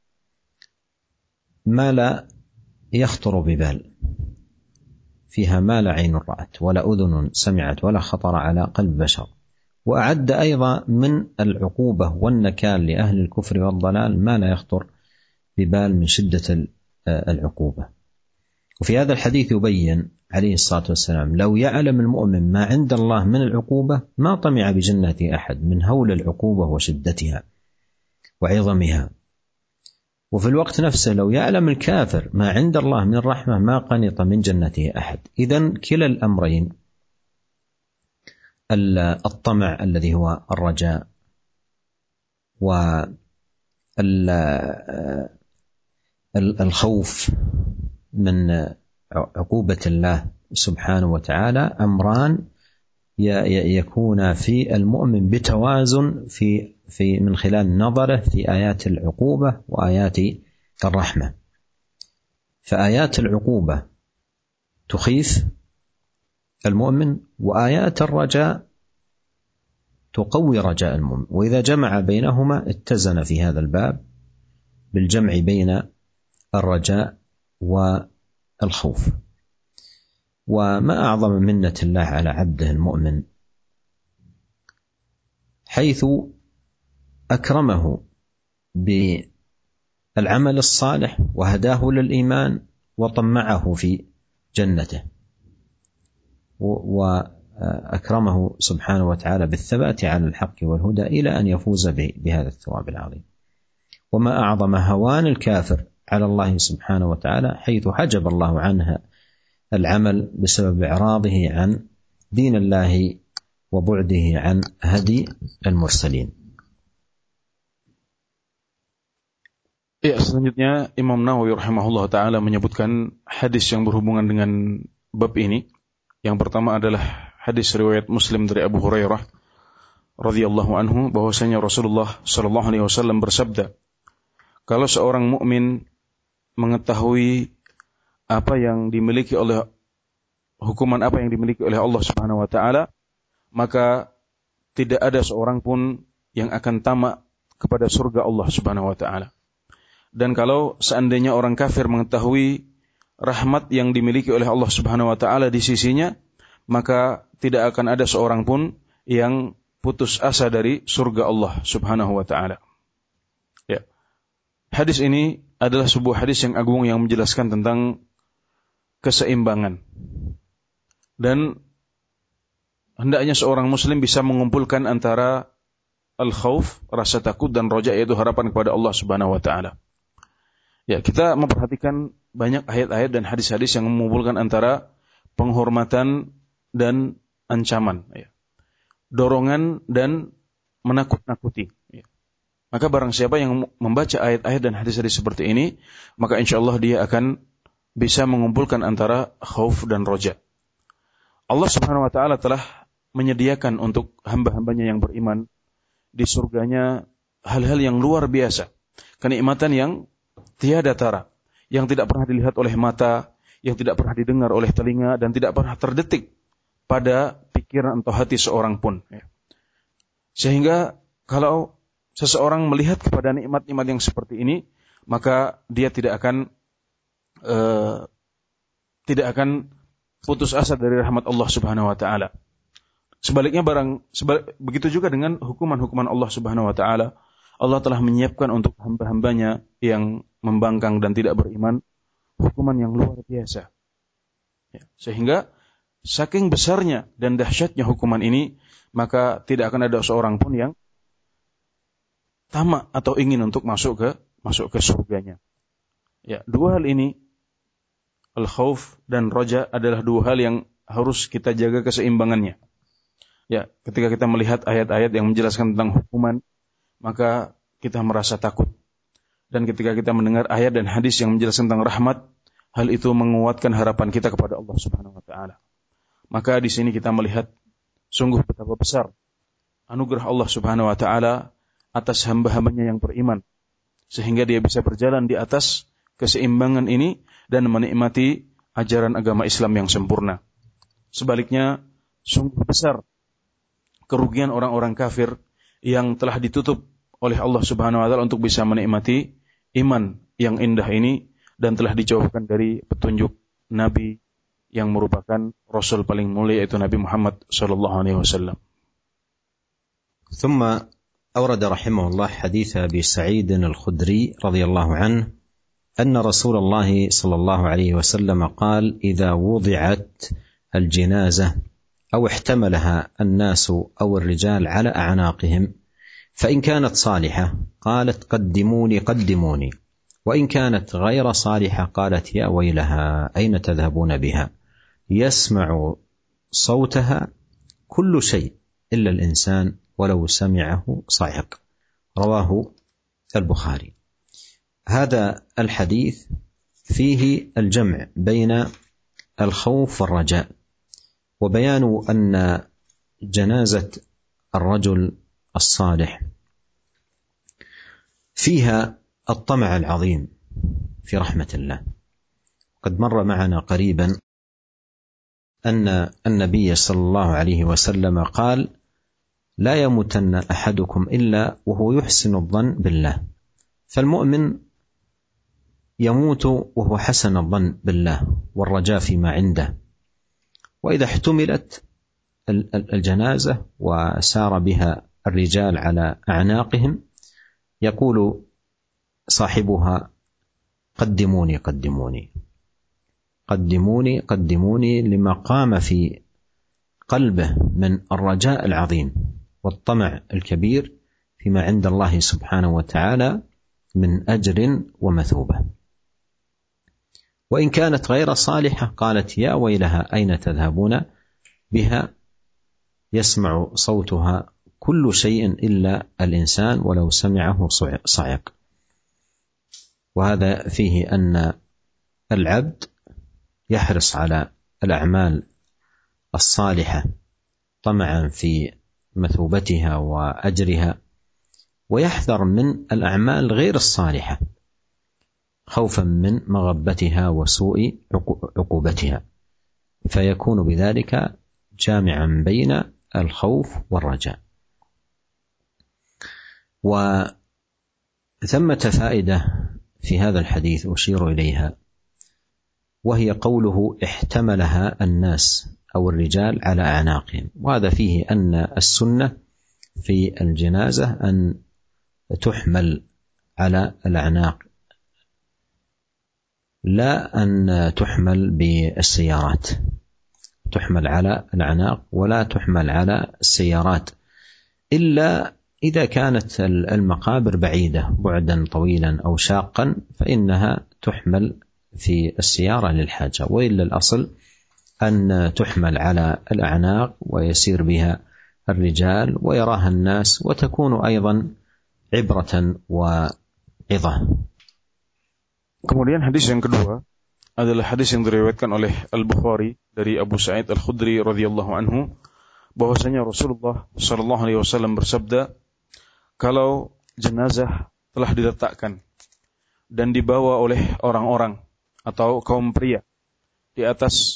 ما لا يخطر ببال، فيها ما لا عين رأت ولا أذن سمعت ولا خطر على قلب بشر. وأعد أيضا من العقوبة والنكال لأهل الكفر والضلال ما لا يخطر ببال من شدة العقوبة. وفي هذا الحديث يبين عليه الصلاة والسلام: لو يعلم المؤمن ما عند الله من العقوبة ما طمع بجنة أحد، من هول العقوبة وشدتها وعظمها. وفي الوقت نفسه لو يعلم الكافر ما عند الله من الرحمة ما قنط من جنته أحد. إذن كلا الأمرين، الطمع الذي هو الرجاء والخوف من عقوبة الله سبحانه وتعالى أمران يكون في المؤمن بتوازن في من خلال نظره في آيات العقوبة وآيات الرحمة. فآيات العقوبة تخيف المؤمن، وآيات الرجاء تقوي رجاء المؤمن، وإذا جمع بينهما اتزن في هذا الباب بالجمع بين الرجاء والخوف. وما أعظم منة الله على عبده المؤمن حيث أكرمه بالعمل الصالح وهداه للإيمان وطمعه في جنته، وأكرمه سبحانه وتعالى بالثبات على الحق والهدى إلى أن يفوز بهذا الثواب العظيم. وما أعظم هوان الكافر على الله سبحانه وتعالى حيث حجب الله عنها العمل بسبب إعراضه عن دين الله وبعده عن هدي المرسلين. Ya, selanjutnya Imam Nawawi rahimahullah ta'ala menyebutkan hadis yang berhubungan dengan bab ini. Yang pertama adalah hadis riwayat Muslim dari Abu Hurairah radhiyallahu anhu bahwasanya Rasulullah sallallahu alaihi wasallam bersabda, kalau seorang mukmin mengetahui apa yang dimiliki oleh hukuman apa yang dimiliki oleh Allah Subhanahu wa taala, maka tidak ada seorang pun yang akan tamak kepada surga Allah Subhanahu wa taala. Dan kalau seandainya orang kafir mengetahui rahmat yang dimiliki oleh Allah Subhanahu wa taala di sisinya, maka tidak akan ada seorang pun yang putus asa dari surga Allah Subhanahu wa taala. Ya. Hadis ini adalah sebuah hadis yang agung yang menjelaskan tentang keseimbangan. Dan hendaknya seorang muslim bisa mengumpulkan antara al-khauf, rasa takut, dan roja, yaitu harapan kepada Allah Subhanahu wa taala. Ya, kita memperhatikan banyak ayat-ayat dan hadis-hadis yang mengumpulkan antara penghormatan dan ancaman, ya. Dorongan dan menakut-nakuti, ya. Maka barang siapa yang membaca ayat-ayat dan hadis-hadis seperti ini, maka insyaallah dia akan bisa mengumpulkan antara khauf dan roja. Allah Subhanahu wa taala telah menyediakan untuk hamba-hambanya yang beriman di surganya hal-hal yang luar biasa, kenikmatan yang tiada tara, yang tidak pernah dilihat oleh mata, yang tidak pernah didengar oleh telinga, dan tidak pernah terdetik pada pikiran atau hati seorang pun. Sehingga kalau seseorang melihat kepada nikmat-nikmat yang seperti ini, maka dia tidak akan putus asa dari rahmat Allah Subhanahu wa taala. Sebaliknya begitu juga dengan hukuman-hukuman Allah Subhanahu wa taala. Allah telah menyiapkan untuk hamba-hambanya yang membangkang dan tidak beriman hukuman yang luar biasa. Ya, sehingga saking besarnya dan dahsyatnya hukuman ini, maka tidak akan ada seorang pun yang tamak atau ingin untuk masuk ke surganya. Ya, dua hal ini, al-khauf dan roja, adalah dua hal yang harus kita jaga keseimbangannya. Ya, ketika kita melihat ayat-ayat yang menjelaskan tentang hukuman, maka kita merasa takut. Dan ketika kita mendengar ayat dan hadis yang menjelaskan tentang rahmat, hal itu menguatkan harapan kita kepada Allah Subhanahu wa taala. Maka di sini kita melihat sungguh betapa besar anugerah Allah Subhanahu wa taala atas hamba-hambanya yang beriman, sehingga dia bisa berjalan di atas keseimbangan ini dan menikmati ajaran agama Islam yang sempurna. Sebaliknya, sungguh besar kerugian orang-orang kafir yang telah ditutup oleh Allah Subhanahu wa taala untuk bisa menikmati iman yang indah ini, dan telah dijauhkan dari petunjuk Nabi yang merupakan Rasul paling mulia, yaitu Nabi Muhammad sallallahu alaihi wasallam. ثم أورد رحمه الله حديث أبي سعيد الخدري رضي الله عنه أن رسول الله صلى الله عليه وسلم قال: إذا وضعت الجنازة أو احتملها الناس أو الرجال على أعناقهم فإن كانت صالحة قالت: قدموني قدموني، وإن كانت غير صالحة قالت: يا ويلها أين تذهبون بها؟ يسمع صوتها كل شيء إلا الإنسان ولو سمعه صاعق. رواه البخاري. هذا الحديث فيه الجمع بين الخوف والرجاء، وبيان أن جنازة الرجل الصالح فيها الطمع العظيم في رحمة الله. قد مر معنا قريبا أن النبي صلى الله عليه وسلم قال: لا يموتن أحدكم إلا وهو يحسن الظن بالله. فالمؤمن يموت وهو حسن الظن بالله والرجاء فيما عنده. وإذا احتملت الجنازة وسار بها الرجال على أعناقهم، يقول صاحبها قدموني قدموني قدموني قدموني، لما قام في قلبه من الرجاء العظيم والطمع الكبير فيما عند الله سبحانه وتعالى من أجر ومثوبة. وإن كانت غير صالحة قالت يا ويلها أين تذهبون بها يسمع صوتها كل شيء إلا الإنسان ولو سمعه صعق. وهذا فيه أن العبد يحرص على الأعمال الصالحة طمعا في مثوبتها وأجرها، ويحذر من الأعمال غير الصالحة خوفا من مغبتها وسوء عقوبتها، فيكون بذلك جامعا بين الخوف والرجاء. وثمة فائدة في هذا الحديث أشير إليها، وهي قوله احتملها الناس أو الرجال على أعناقهم. وهذا فيه أن السنة في الجنازة أن تحمل على الأعناق، لا أن تحمل بالسيارات، تحمل على الأعناق ولا تحمل على السيارات، إلا إذا كانت المقابر بعيدة بعدا طويلا أو شاقا فإنها تحمل في السيارة للحاجة، وإلا الأصل أن تحمل على الأعناق ويسير بها الرجال ويراها الناس، وتكون أيضا عبرة وعظة. Kemudian hadis yang kedua adalah hadis yang diriwayatkan oleh Al-Bukhari dari Abu Sa'id Al-Khudri radhiyallahu anhu, bahwasanya Rasulullah sallallahu alaihi wasallam bersabda, kalau jenazah telah diletakkan dan dibawa oleh orang-orang atau kaum pria di atas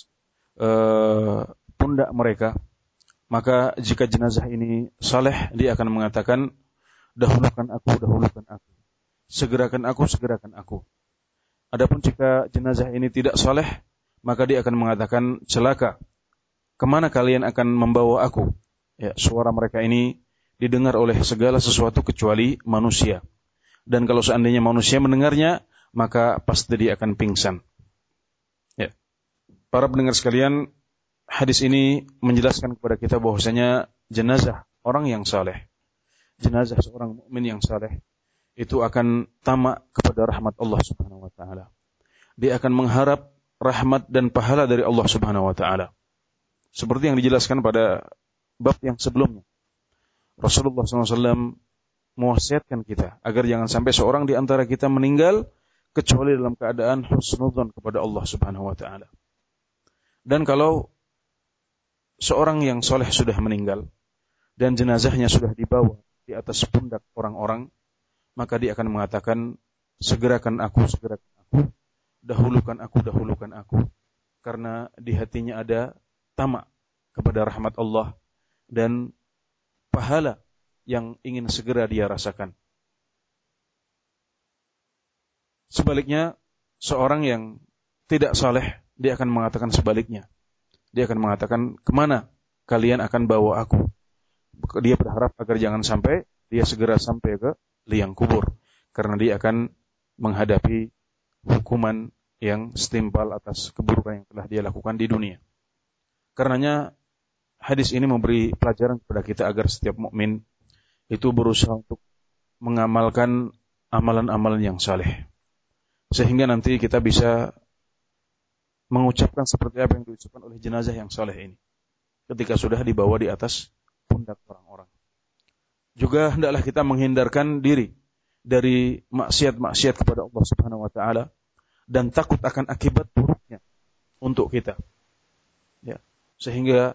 pundak mereka, maka jika jenazah ini saleh, dia akan mengatakan, dahulukan aku, segerakan aku. Adapun jika jenazah ini tidak saleh, maka dia akan mengatakan, celaka, kemana kalian akan membawa aku? Ya, suara mereka ini didengar oleh segala sesuatu kecuali manusia. Dan kalau seandainya manusia mendengarnya, maka pasti dia akan pingsan. Ya. Para pendengar sekalian, hadis ini menjelaskan kepada kita bahwasanya jenazah orang yang saleh, jenazah seorang mukmin yang saleh, itu akan tamak kepada rahmat Allah Subhanahu wa taala. Dia akan mengharap rahmat dan pahala dari Allah Subhanahu wa taala. Seperti yang dijelaskan pada bab yang sebelumnya. Rasulullah SAW mewasiatkan kita agar jangan sampai seorang di antara kita meninggal kecuali dalam keadaan husnudzon kepada Allah Subhanahu wa taala. Dan kalau seorang yang soleh sudah meninggal dan jenazahnya sudah dibawa di atas pundak orang-orang, maka dia akan mengatakan, segerakan aku, dahulukan aku, karena di hatinya ada tamak kepada rahmat Allah dan pahala yang ingin segera dia rasakan. Sebaliknya, seorang yang tidak saleh, dia akan mengatakan sebaliknya. Dia akan mengatakan, kemana kalian akan bawa aku? Dia berharap agar jangan sampai dia segera sampai ke liang kubur, karena dia akan menghadapi hukuman yang setimpal atas keburukan yang telah dia lakukan di dunia. Karenanya hadis ini memberi pelajaran kepada kita agar setiap mukmin itu berusaha untuk mengamalkan amalan-amalan yang saleh, sehingga nanti kita bisa mengucapkan seperti apa yang diucapkan oleh jenazah yang saleh ini ketika sudah dibawa di atas pundak orang-orang. Juga hendaklah kita menghindarkan diri dari maksiat-maksiat kepada Allah Subhanahu wa taala dan takut akan akibat buruknya untuk kita. Ya, sehingga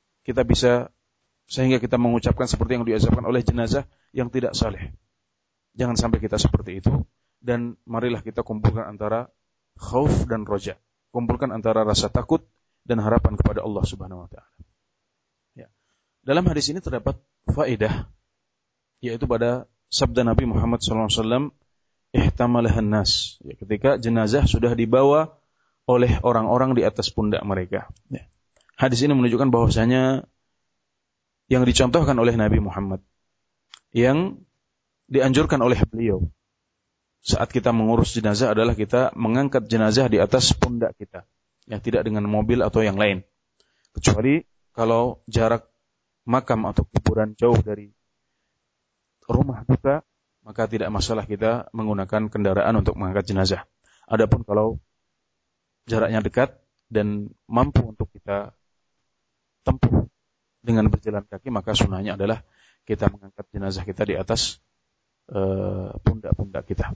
kita mengucapkan seperti yang diucapkan oleh jenazah yang tidak saleh. Jangan sampai kita seperti itu, dan marilah kita kumpulkan antara khauf dan roja. Kumpulkan antara rasa takut dan harapan kepada Allah Subhanahu wa taala. Ya. Dalam hadis ini terdapat faedah, yaitu pada sabda Nabi Muhammad SAW, ihtamalahan nas, ya, ketika jenazah sudah dibawa oleh orang-orang di atas pundak mereka. Ya. Hadis ini menunjukkan bahwasanya yang dicontohkan oleh Nabi Muhammad, yang dianjurkan oleh beliau, saat kita mengurus jenazah adalah kita mengangkat jenazah di atas pundak kita, yang tidak dengan mobil atau yang lain. Kecuali kalau jarak makam atau kuburan jauh dari rumah duka, maka tidak masalah kita menggunakan kendaraan untuk mengangkat jenazah. Adapun kalau jaraknya dekat dan mampu untuk kita tempuh dengan berjalan kaki, maka sunnahnya adalah kita mengangkat jenazah kita di atas pundak-pundak kita.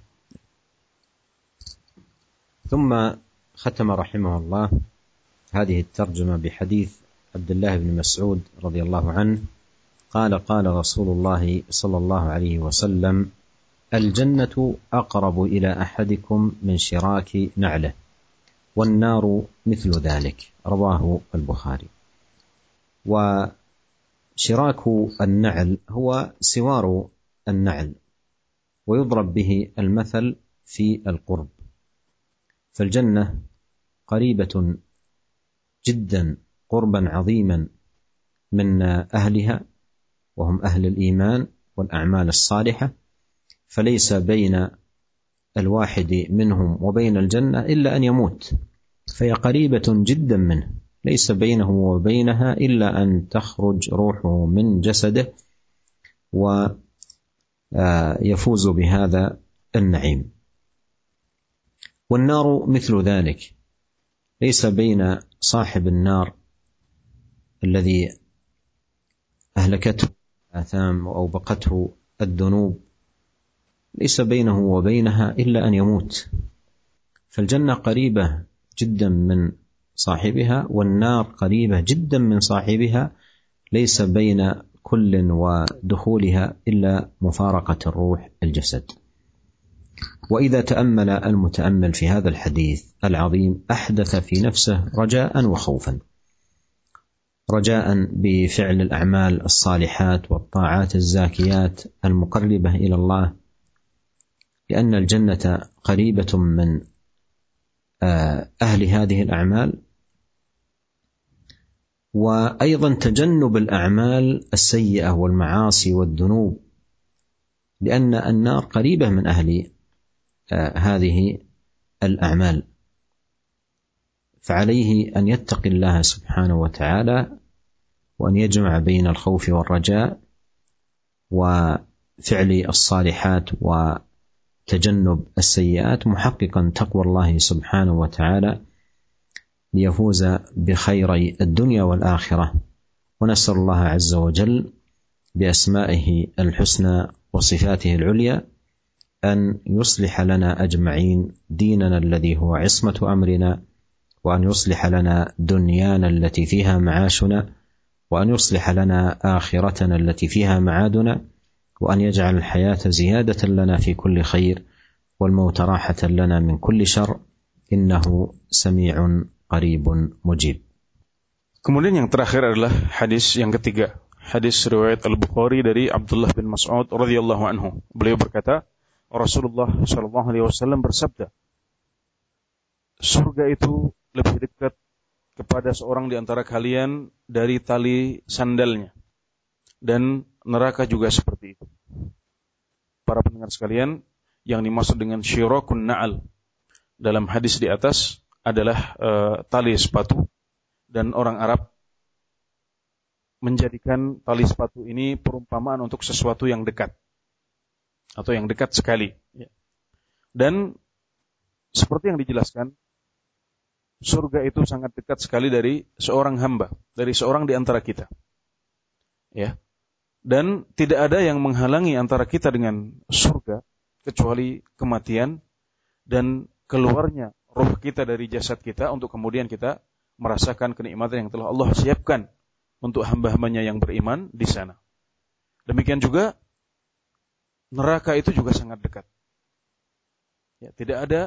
ثم ختم رحمه الله هذه الترجمة بحديث عبد الله بن مسعود رضي الله عنه قال قال رسول الله صلى الله عليه وسلم الجنة أقرب إلى أحدكم من شراك نعله والنار مثل ذلك رواه البخاري. وشراك النعل هو سوار النعل، ويضرب به المثل في القرب، فالجنة قريبة جدا قربا عظيما من أهلها وهم أهل الإيمان والأعمال الصالحة، فليس بين الواحد منهم وبين الجنة إلا أن يموت، فهي قريبة جدا منه، ليس بينه وبينها إلا أن تخرج روحه من جسده ويفوز بهذا النعيم. والنار مثل ذلك، ليس بين صاحب النار الذي أهلكته الآثام وأوبقته الذنوب ليس بينه وبينها إلا أن يموت، فالجنة قريبة جدا من صاحبها والنار قريبة جدا من صاحبها، ليس بين كل ودخولها إلا مفارقة الروح الجسد. وإذا تأمل المتأمل في هذا الحديث العظيم أحدث في نفسه رجاء وخوفا، رجاء بفعل الأعمال الصالحات والطاعات الزاكيات المقربة إلى الله، لأن الجنة قريبة من أهل هذه الأعمال، وأيضا تجنب الأعمال السيئة والمعاصي والذنوب، لأن النار قريبة من أهل هذه الأعمال، فعليه أن يتقي الله سبحانه وتعالى وأن يجمع بين الخوف والرجاء وفعل الصالحات وتجنب السيئات، محققا تقوى الله سبحانه وتعالى ليفوز بخيري الدنيا والآخرة. ونسأل الله عز وجل بأسمائه الحسنى وصفاته العليا أن يصلح لنا أجمعين ديننا الذي هو عصمة أمرنا، وأن يصلح لنا دنيانا التي فيها معاشنا، وأن يصلح لنا آخرتنا التي فيها معادنا، وأن يجعل الحياة زيادة لنا في كل خير والموت راحة لنا من كل شر، إنه سميع قريب مجيب. Kemudian yang terakhir adalah hadis yang ketiga, hadis riwayat Al-Bukhari dari Abdullah bin Mas'ud radhiyallahu anhu. Beliau berkata, Rasulullah sallallahu alaihi wasallam bersabda, surga itu lebih dekat kepada seorang di antara kalian dari tali sandalnya, dan neraka juga seperti itu. Para pendengar sekalian, yang dimaksud dengan syirakun na'al dalam hadis di atas adalah tali sepatu, dan orang Arab menjadikan tali sepatu ini perumpamaan untuk sesuatu yang dekat atau yang dekat sekali. Dan seperti yang dijelaskan, surga itu sangat dekat sekali dari seorang hamba, dari seorang di antara kita. Ya. Dan tidak ada yang menghalangi antara kita dengan surga kecuali kematian dan keluarnya roh kita dari jasad kita untuk kemudian kita merasakan kenikmatan yang telah Allah siapkan untuk hamba-hambanya yang beriman di sana. Demikian juga neraka itu juga sangat dekat. Ya, tidak ada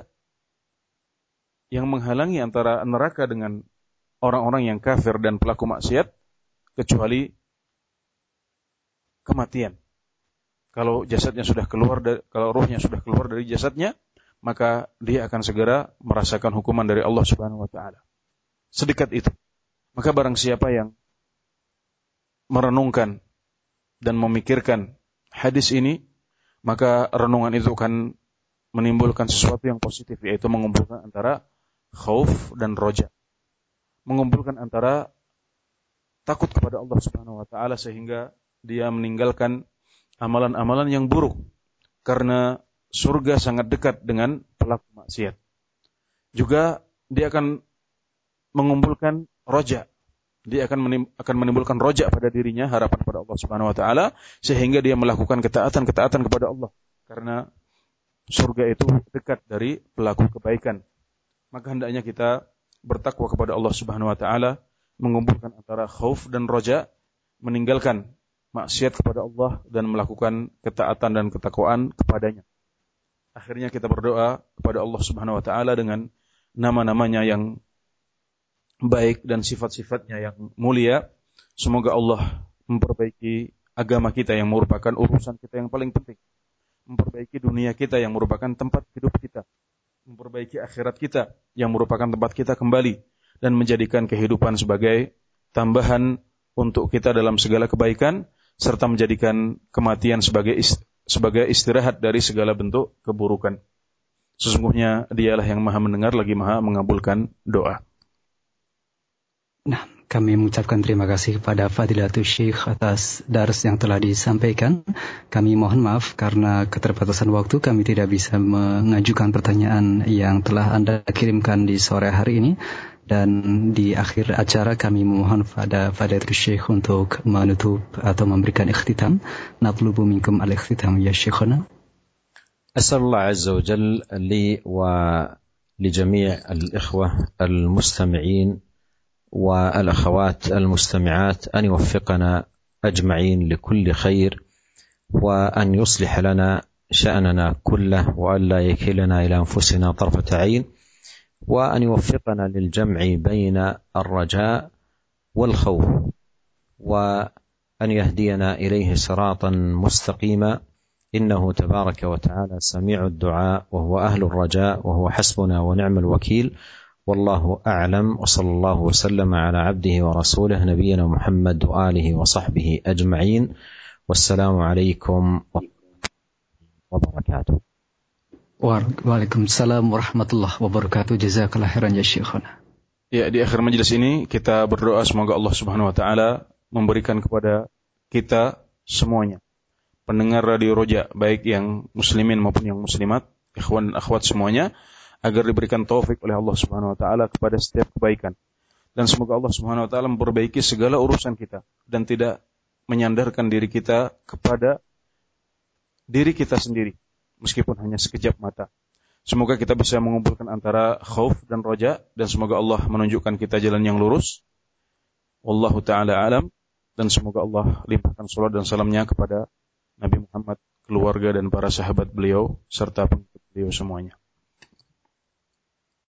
yang menghalangi antara neraka dengan orang-orang yang kafir dan pelaku maksiat kecuali kematian. Kalau jasadnya sudah keluar, kalau ruhnya sudah keluar dari jasadnya, maka dia akan segera merasakan hukuman dari Allah Subhanahu wa taala. Sedekat itu. Maka barang siapa yang merenungkan dan memikirkan hadis ini, maka renungan itu akan menimbulkan sesuatu yang positif, yaitu mengumpulkan antara khauf dan roja. Mengumpulkan antara takut kepada Allah Subhanahu wa taala sehingga dia meninggalkan amalan-amalan yang buruk karena surga sangat dekat dengan pelaku maksiat. Juga dia akan mengumpulkan roja. Dia akan menimbulkan roja pada dirinya, harapan pada Allah Subhanahu wa taala, sehingga dia melakukan ketaatan kepada Allah karena surga itu dekat dari pelaku kebaikan. Maka hendaknya kita bertakwa kepada Allah Subhanahu wa taala, mengumpulkan antara khauf dan roja, meninggalkan maksiat kepada Allah dan melakukan ketaatan dan ketakwaan kepadanya. Akhirnya kita berdoa kepada Allah Subhanahu wa taala dengan nama-namanya yang baik dan sifat-sifatnya yang mulia. Semoga Allah memperbaiki agama kita yang merupakan urusan kita yang paling penting, memperbaiki dunia kita yang merupakan tempat hidup kita, memperbaiki akhirat kita yang merupakan tempat kita kembali, dan menjadikan kehidupan sebagai tambahan untuk kita dalam segala kebaikan, serta menjadikan kematian sebagai istirahat dari segala bentuk keburukan. Sesungguhnya Dialah yang Maha mendengar lagi Maha mengabulkan doa. Nah, kami mengucapkan terima kasih kepada Fadilatul Syekh atas dars yang telah disampaikan. Kami mohon maaf karena keterbatasan waktu kami tidak bisa mengajukan pertanyaan yang telah Anda kirimkan di sore hari ini. Dan di akhir acara kami memohon pada Fadilatul Syekh untuk menutup atau memberikan ikhtitam. Natlubu minkum al-ikhtitam ya Syekhana. أسأل الله عز وجل لي ولجميع الإخوة المستمعين والأخوات المستمعات أن يوفقنا أجمعين لكل خير، وأن يصلح لنا شأننا كله، وأن لا يكلنا إلى أنفسنا طرفة عين، وأن يوفقنا للجمع بين الرجاء والخوف، وأن يهدينا إليه صراطا مستقيما، إنه تبارك وتعالى سميع الدعاء، وهو أهل الرجاء، وهو حسبنا ونعم الوكيل. والله أعلم، وصلى الله وسلم على عبده ورسوله نبينا محمد وآله وصحبه أجمعين، والسلام عليكم وبركاته. Waalaikumsalam warahmatullahi wabarakatuh. Jazakallah khairan ya Syekhana. Ya, di akhir majelis ini kita berdoa semoga Allah Subhanahu wa taala memberikan kepada kita semuanya, pendengar Radio Roja, baik yang muslimin maupun yang muslimat, ikhwan dan akhwat semuanya, agar diberikan taufik oleh Allah Subhanahu wa taala kepada setiap kebaikan. Dan semoga Allah Subhanahu wa taala memperbaiki segala urusan kita dan tidak menyandarkan diri kita kepada diri kita sendiri meskipun hanya sekejap mata. Semoga kita bisa mengumpulkan antara khauf dan roja, dan semoga Allah menunjukkan kita jalan yang lurus. Wallahu taala alam, dan semoga Allah limpahkan salat dan salamnya kepada Nabi Muhammad, keluarga dan para sahabat beliau serta pengikut beliau semuanya.